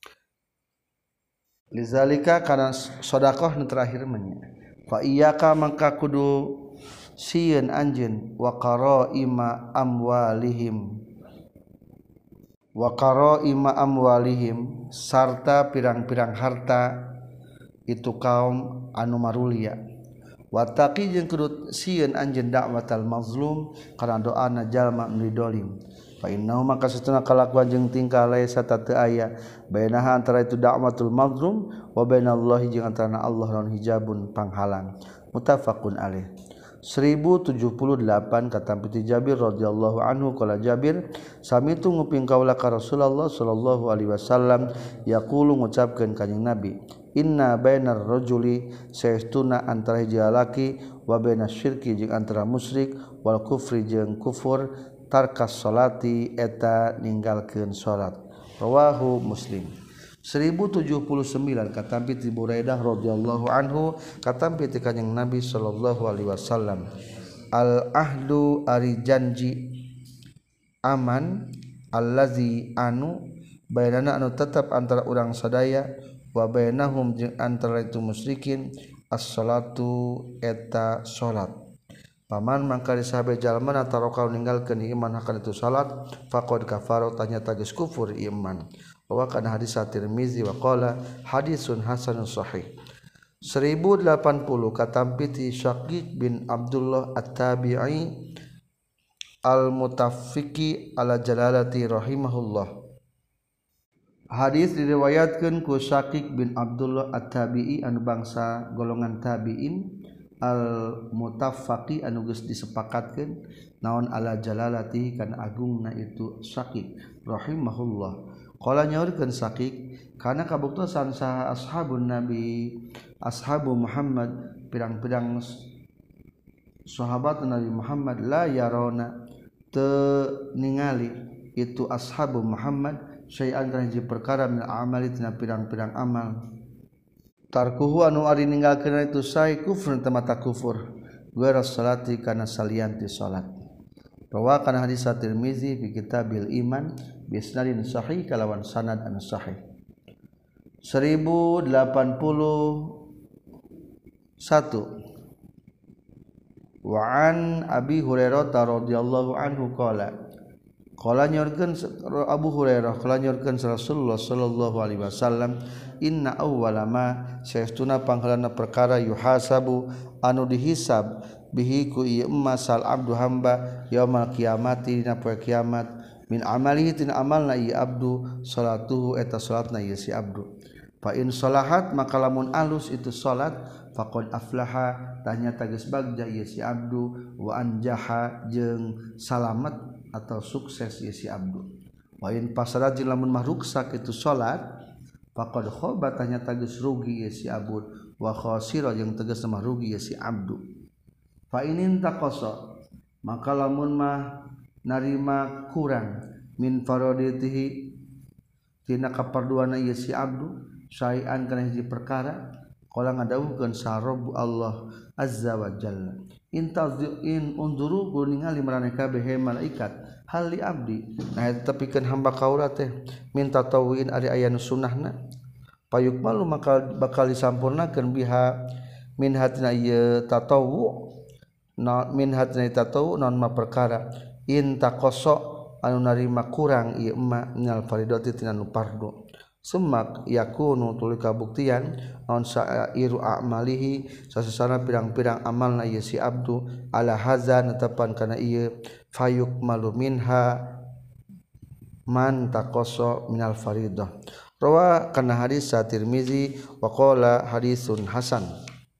lizalika kana sedekah nu terakhir manya fa iyyaka mangka kudu sieun anjeun wa qaraima amwalihim sarta pirang-pirang harta itu kaum anu marulia wataqi jeung kudu sieun anjeun dakwatal mazlum kana doana jalma nu didolim fa innahu maka satuna kalakuan jeung tingkah laisa teu aya bainaha antara itu dakwatul mazlum wa bainallahi jeung antara Allah lawan hijabun panghalang muttafaqun alaih 1078 katampi ti Jabir radhiyallahu anhu qala Jabir samitu nguping kaula ka Rasulullah sallallahu alaihi wasallam yaqulu ngucapkeun kanjing Nabi inna bainar rajuli saestuna antara hiji lalaki wa bainas syirki jeung antara musyrik wal kufri jeung kufur tarkas salati eta ninggalkeun salat rawahu Muslim 1079 katampi ti Buraidah radhiyallahu anhu katampi ti kanjing Nabi sallallahu alaihi wasallam al ahdu ari janji aman allazi anu bainana anu tetap antara urang sadaya wa bainahum jeung antara itu musyrikin as-salatu eta salat paman mangka disabe jalma taroka ninggalkeun iman akan itu salat faqad kafara tanya geus kufur iman wa kana hadis Tirmizi wa qala hadisun hasanun sahih 1080 katampi ti Syaqiq bin Abdullah at-Tabi'i al-Mutaffiqi ala Jalalati rahimahullah hadis diriwayatkeun ku Syaqiq bin Abdullah at-Tabi'i anu bangsa golongan tabi'in al-Mutaffaqi anu geus disepakatkeun naon ala Jalalati kana agungna itu Syaqiq rahimahullah qala nyaurkeun Syaqiq kana kabuktosan saha ashabun nabi ashabu Muhammad pirang-pirang sahabat Nabi Muhammad la yarona teu ningali itu ashabu Muhammad syai'an kana hiji perkara min amali tina pirang-pirang amal tarkuhu anu ari ninggalkeun itu sai kufur tamata kufur wa salati kana salianti salat rawa kana hadis Tirmizi fi kitabil iman bisnadin sahih kalawan sanad anu sahih 1081 wa an Abi Hurairah radhiyallahu anhu qala nyorkeun Abu Hurairah qala nyorkeun Rasulullah sallallahu alaihi wasallam inna awwala ma saestuna panggalana perkara yuhasabu anu dihisab bihi ku ieu masal abdu hamba yaumul qiyamati dina poe kiamat min amalihi tin amalna ieu abdu salatuhu eta salatna ieu si abdu fa in salahat maka lamun alus itu salat faqad aflaha tanya geus bagja ieu si abdu wa anjaha jeung salamet atau sukses ieu si abdu wa in pasarat jeung lamun mah ruksak itu salat faqad khaba tanya geus rugi ieu si abdu wa khasira jeung tegas mah rugi ieu si abdu fa inin taqasa maka lamun mah narima kurang min faraditihi tina kaparduana ieu si abdu syai'an kana hiji perkara qala ngadawuhkeun sarab Allah azza wa jalla in unzuru ningali marane kabeh malaikat hal li abdi nah tepikeun hamba kaula teh minta tawin ari aya nu sunnahna payukmalu maka bakal disampurnakeun biha min hatina ieu tatawu min hatina tatawu naon ma perkara in taqassa anu narima kurang ieu emma minal faridati tina nu fardu semak yakunu tuluy kabuktian naon sairu a'malihi sasasana pirang-pirang amalna ieu si abdu ala hazan netepan kana ieu fayuk maluminha man taqoso minal faridah rawa kana hadis sa Tirmizi wa qala hadisun hasan.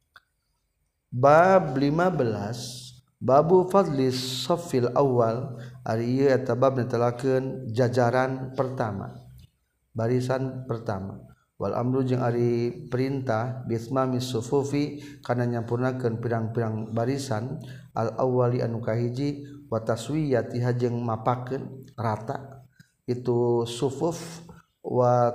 Bab 15 babu fadlis safil awal ari ieu eta bab netelakeun jajaran pertama barisan pertama wal amru jeung ari perintah bismami sufufi kana nyampurnakeun pirang-pirang barisan al awwali anu kahiji wa taswiyatiha jeung mapakeun rata itu sufuf wa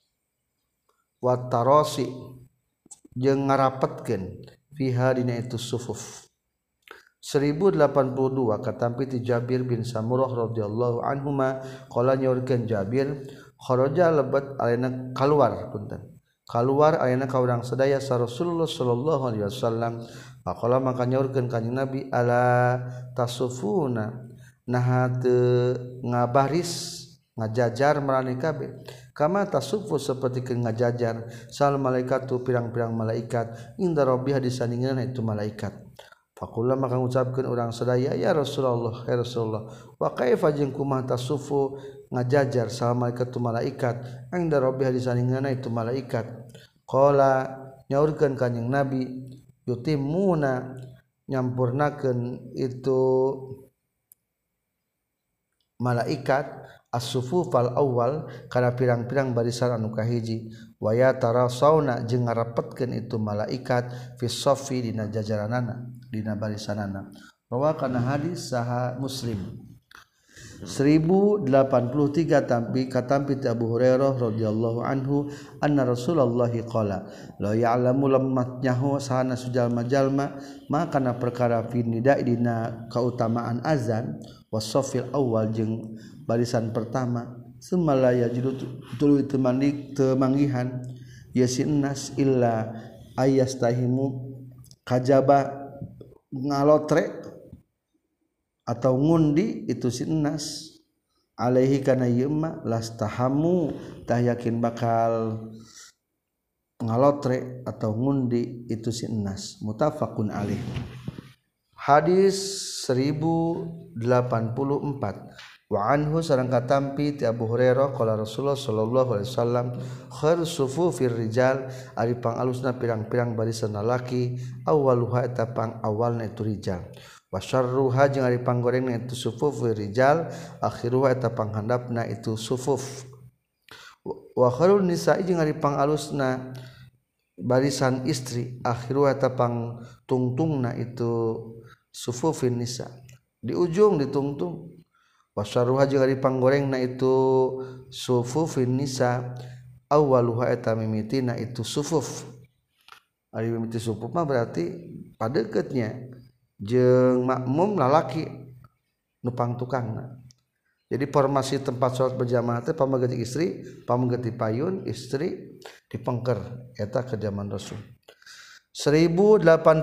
tarasi jeung ngarapetkeun fiha dina itu sufuf. 1082 katampi ti Jabir bin Samurah radhiyallahu anhuma qala nyaurkeun Jabir kharaja lebat alena keluar alena ka urang sadaya sa Rasulullah sallallahu alaihi wasallam faqala maka nyaurkeun kanjing Nabi ala tasufuna nah teu ngabaris ngajajar marane kabeh kama tasufu saperti ke ngajajar sal malaikatu pirang-pirang malaikat inda rabbih disandingan itu malaikat. Faqula maka ngucapkeun urang sadaya ya Rasulullah wa kaifa jeung kumaha tasufu ngajajar sal malaikatu malaikat inda rabbih disandingan itu malaikat. Qala nyaurkeun kanjing Nabi yutimuna nyampurnakeun itu malaikat as-sufufal awal kana pirang-pirang barisan anu kahiji wa yatarasawna jeung ngarapetkeun itu malaikat fi saffi dina jajaranana dina barisanana rawa kana hadis saha Muslim. 1083 katampi Abu Hurairah radhiyallahu anhu anna Rasulullah qala la ya'lamu lammat nyahu sahana sujalma-jalma makana perkara fi nida dina kautamaan azan wasafil awal jeung barisan pertama semalaya jidu tuluy temanggihan yasinnas illa ayastahimu kajaba ngalotre atau ngundi itu sinnas alaihi kana yema lastahamu tah yakin bakal ngalotre atau ngundi itu sinnas muttafaqun alaih. Hadis 1084 wa anhu sareng katampi ti Abu Hurairah qala Rasulullah sallallahu alaihi wasallam khair sufufir rijal ari pangalusna pirang-pirang barisan lalaki awwaluha eta pang awalna itu rijal wa syarruha jeung ari panggorengna itu sufufir rijal akhiruha eta panghandapna itu sufuf wa khairun nisa'i jeung ari pangalusna barisan istri akhiruha eta pang tungtungna itu sufufin nisa di ujung ditungtung wasaruha jeung ari panggorengna itu sufufin nisa awwaluha eta mimitina itu sufuf ari mimiti sufuf mah berarti padeukeutnya jeung makmum lalaki nu pangtukangna. Jadi formasi tempat salat berjamaah teh pamanggeut istri pamanggeut payun istri dipengker eta ke zaman Rasul. 1085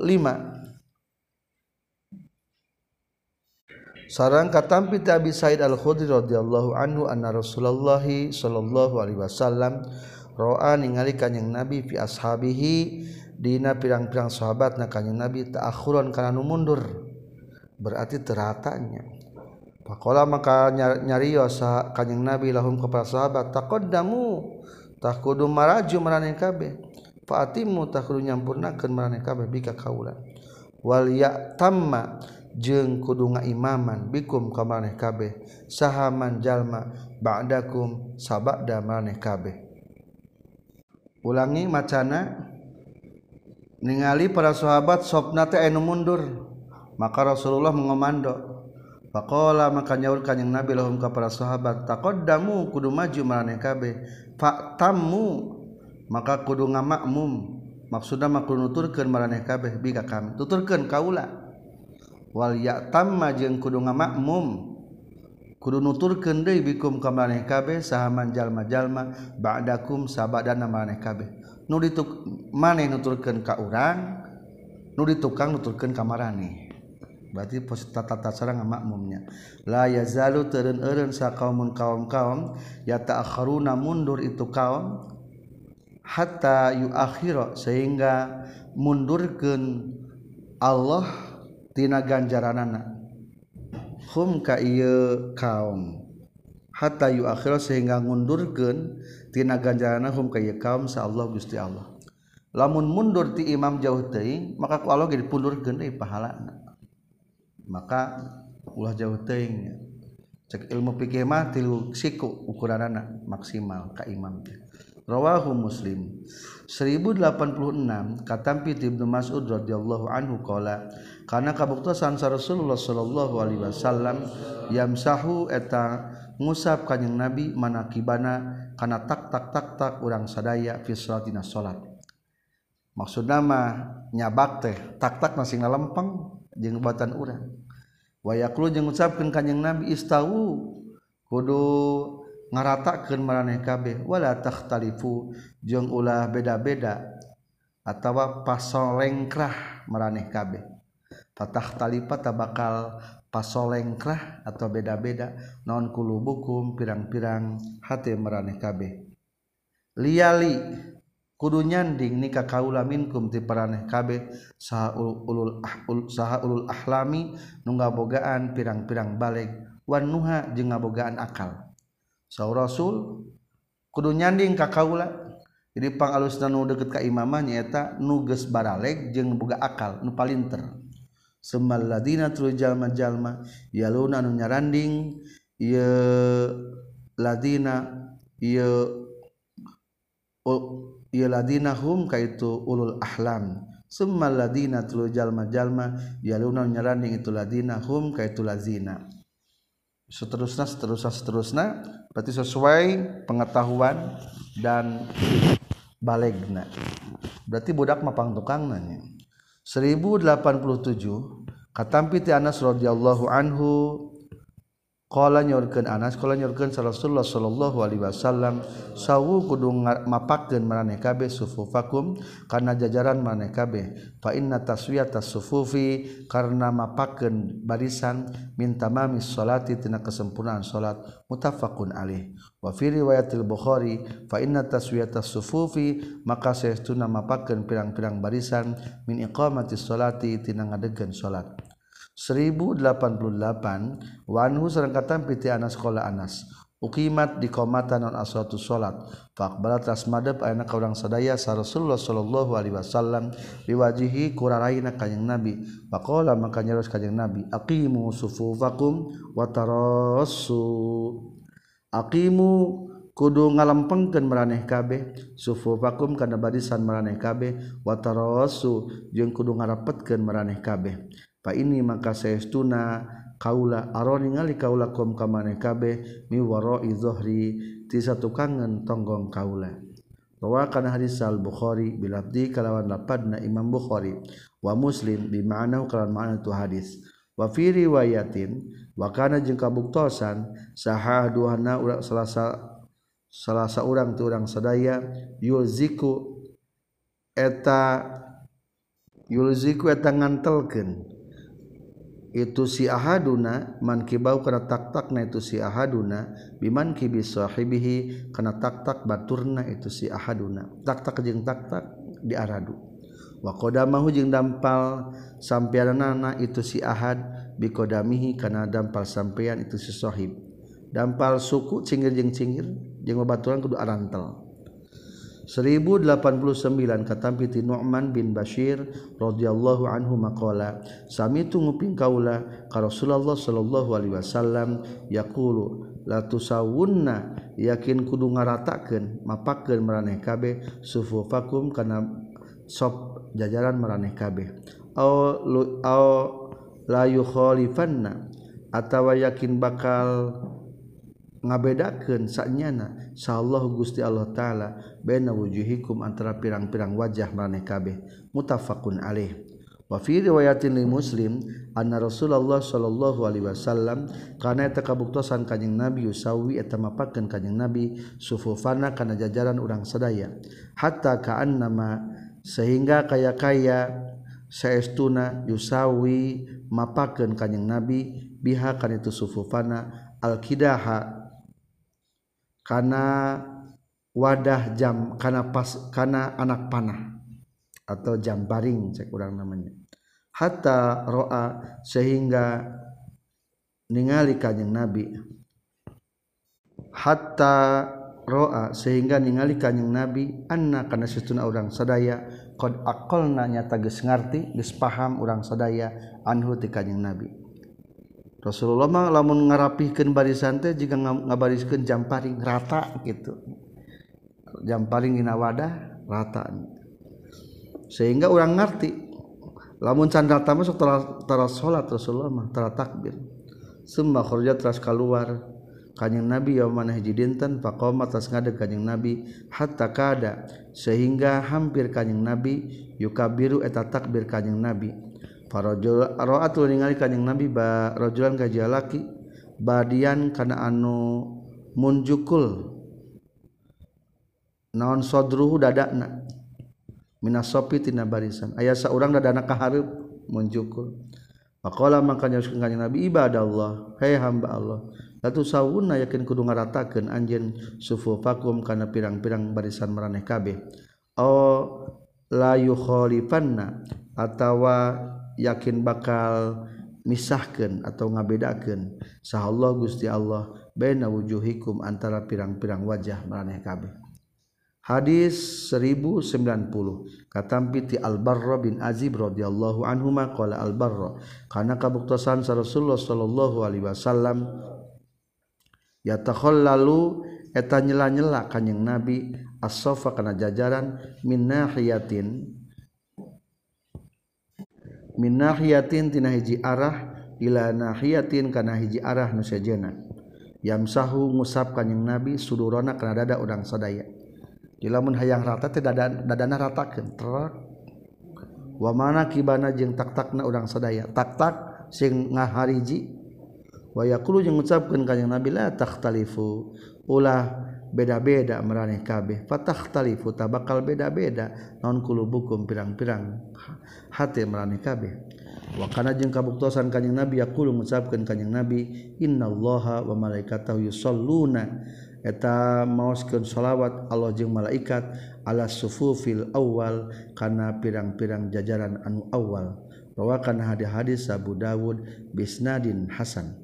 sareng katampi ti Abi Sa'id Al-Khudri radhiyallahu anhu anna Rasulullah sallallahu alaihi wasallam ra'a ningali kanjing Nabi fi ashabihi dina pirang-pirang sahabatna kanjing Nabi ta'akhuran kana nu mundur berarti teratanya. Faqala maka nyarios kanjing Nabi lahum ka para sahabat taqaddamu tah kudu maraju marane kabeh fa'atimu tah kudu nyampurnakeun marane kabeh bika kaula wal ya'tamma jeung kudu ngaimaman bikum ka maneh kabeh sahaman jalma ba'dakum sabada maneh kabeh. Ulangi macana ningali para sahabat sopna teh anu mundur maka Rasulullah mengomando faqala maka nyaur kanjing Nabi lahum ka para sahabat taqaddamu kudu maju maneh kabeh fa'tammu maka kudu ngamakmum maksudna mah kudu nuturkeun maneh kabeh bika kami tuturkeun kaula wal ya'tamma jeung kudu ngamakmum kudu nuturkeun deui bikum ka maneh kabeh sahaman jalma-jalma ba'dakum sabadana maneh kabeh nu dituk maneh nuturkeun ka urang nu ditukang nuturkeun ka maraneh berarti tata cara makmumnya. La yazalu teureun-eureun sa kaumun kaum-kaum yata'akharuna mundur itu kaum hatta yuakhira sehingga mundurkeun Allah tina ganjaranana hum ka ieu kaum hatta yuakhira sehingga ngundurkeun tina ganjaranana hum ka ieu kaum sa Allah Gusti Allah. Lamun mundur ti imam jauh teuing maka ku Allah ge dipundurkeun deui pahalana. Maka ulah jauh teuing. Cek ilmu fikih mah tilu siku ukuranana maksimal ka imam. Rawahu Muslim. 1086 katampi Ibnu Mas'ud radhiyallahu anhu qala kana kabuktosan sa Rasulullah sallallahu alaihi wasallam yamsahu eta ngusap kanjing Nabi manakibana kana tak tak tak tak urang sadaya fi salatina salat. Maksudna mah nyabak teh tak-tak masing lempeng jeung batan urang. Wa yaqulu jeung ngucapkeun kanjing Nabi istawu kudu ngaratakeun maraneh kabeh wala takhtalifu jeung ulah beda-beda atawa pasolengkrah maraneh kabeh. Fatakhtalifa tabakal pasolengkrah atau beda-beda naon kulubukum pirang-pirang hate maraneh kabeh. Liyali kudu nyanding nikah kaula minkum ti paraneh kabeh saha ulul ahlami nu ngabogaan pirang-pirang baleg wan nuha jeung ngabogaan akal. Saur Rasul kudu nyanding ka kaula. Jadi pangalusna nu deukeut ka imamah nyaeta nu geus baraleg jeung boga akal nu palinter. Summal ladina tulu jalma-jalma yaluna nu nyaranding ieu ladina ieu ladina hum kaitu ulul ahlam summal ladina tulu jalma-jalma yaluna nyaranding itu ladina hum kaitu lazina seterusna berarti sesuai pengetahuan dan balegna berarti budak mah pangtukangna nya. 1087 katampi ti Anas radhiyallahu anhu qala nyorkeun Anas qala nyorkeun Rasulullah sallallahu alaihi wasallam sawu kudu mapakeun maraneh kabeh sufufakum kana jajaran maraneh kabeh fa inna taswiyatas sufufi karna mapakeun barisan min tamamis sholati tina kesempurnaan salat muttafaqun alaih wa fi riwayatil Bukhari fa inna taswiyatas sufufi maka saestuna mapakeun pirang-pirang barisan min iqamatis sholati tina ngadegeun salat. 1088 wa anhu sareng katampi ti Anas qala Anas uqimat di qomatan non aswatu salat faqbalat asmadab ayana ka urang sadaya sa Rasulullah sallallahu alaihi wasallam biwajihi kuraraina kanjing Nabi faqala maka nyaros kanjing Nabi aqimu sufufakum wa tarassu aqimu kudu ngalempengkeun maraneh kabeh sufufakum kana barisan maraneh kabeh wa tarassu jeung kudu ngarepetkeun maraneh kabeh fa ini maka saestuna kaula aroni ngali kaula kum ka maneh kabeh mi wara'i dhuhri ti satukangan tonggong kaula. Rawakan hadis al-Bukhari bilafdi kalawan lapadna Imam Bukhari wa Muslim bi ma'na kalawan ma'na tu hadis. Wa fi riwayatin wa kana jeung kabuktosan sahaduhana urang salasa urang tu urang sadaya yulziku eta ngantelkeun itu si ahaduna man kibau kana tak-takna itu si ahaduna biman kibi sahibihi kana tak-tak baturna itu si ahaduna tak-tak jeung tak-tak diaradu wa qadamahu jeung dampal sampeanana itu si ahad bi qadamihi kana dampal sampean itu si sahib dampal suku cingir jeung babaturan kudu arantel. 1089 katampi ti Nu'man bin Bashir radhiyallahu anhu maqala samitu nguping kaula ka Rasulullah sallallahu alaihi wasallam yaqulu la tusawunna yakin kudu ngaratakeun mapakeun maraneh kabeh sufufakum kana sop jajaran maraneh kabeh au la yukhalifanna atawa yakin bakal ngabedakeun sanyana sallallahu Gusti Allah taala baina wujuhikum antara pirang-pirang wajah maraneh kabeh muttafaqun alaih wa fi riwayatin li Muslim anna Rasulullah sallallahu alaihi wasallam kana eta kabuktosan kanjing Nabi yusawi eta mapakeun kanjing Nabi sufufana kana jajaran urang sadaya hatta ka'annama sehingga kaya saestuna yusawi mapakeun kanjing Nabi biha kana itu sufufana al-kidaha kana wadah jam kana anak panah atau jam baring cek urang namanya hatta ro'a sehingga ningali kanjing Nabi hatta ro'a sehingga ningali kanjing Nabi anna kana satuna urang sadaya qad aqalna nyata geus ngarti geus paham urang sadaya anhu ti kanjing Nabi. Rasulullah mah lamun ngarapihkeun barisan teh jiga ngabariskeun jam paring rata gitu. Jam paring dina wadah rata. Sehingga urang ngarti lamun can rata mah sok tara salat Rasulullah mah tara takbir. Summa kharaja teras keluar kanjing Nabi yaumana hiji dinten faqama tas ngadeg kanjing Nabi hatta kada sehingga hampir kanjing Nabi yukabiru eta takbir kanjing Nabi farajul ra'atul ningali kanjing Nabi ba rajulan ka jalaki badian kana anu munjukul naon sodruhu dadana minas sopi tina barisan aya saurang dadana ka hareup munjukul faqala maka nyauskeun kanjing Nabi ibadallah hai hamba Allah latu sawuna yakin kudu ngaratakeun anjeun sufufakum kana pirang-pirang barisan maraneh kabeh la yukhalifanna atawa yakin bakal misahkeun atau ngabedakeun sahallahu Gusti Allah baina wujuhikum antara pirang-pirang wajah maraneh kabeh. Hadis 1090 katampi ti Al-Barra bin Azib radhiyallahu anhuma qala Al-Barra kana kabuktosan sa Rasulullah sallallahu alaihi wasallam yatakhallalu eta nyela-nyela kanjing Nabi as-safa kana jajaran min nahiyatin tina hiji arah ila nahiyatin kana hiji arah nu sejenna yamsahu ngusap kanjing Nabi sudurana kana dada urang sadaya di lamun hayang rata teh dadana ratakeun trak wa mana kibana jeung tak-takna urang sadaya tak-tak sing ngahariji wa yaqulu jeung ngucapkeun kanjing Nabi la takhtalifu ulah beda-beda maraneh kabeh fatakhtalifu tabakal beda-beda naon kulubukum pirang-pirang hate maraneh kabeh wa kana jeung kabuktosan kanjing Nabi yaqulu ngucapkeun kanjing Nabi innallaha wa malaikatahu yusholluna eta maoskeun shalawat Allah jeung malaikat ala sufufil awal kana pirang-pirang jajaran anu awal rawakan hadis Abu Dawud bisnadin hasan.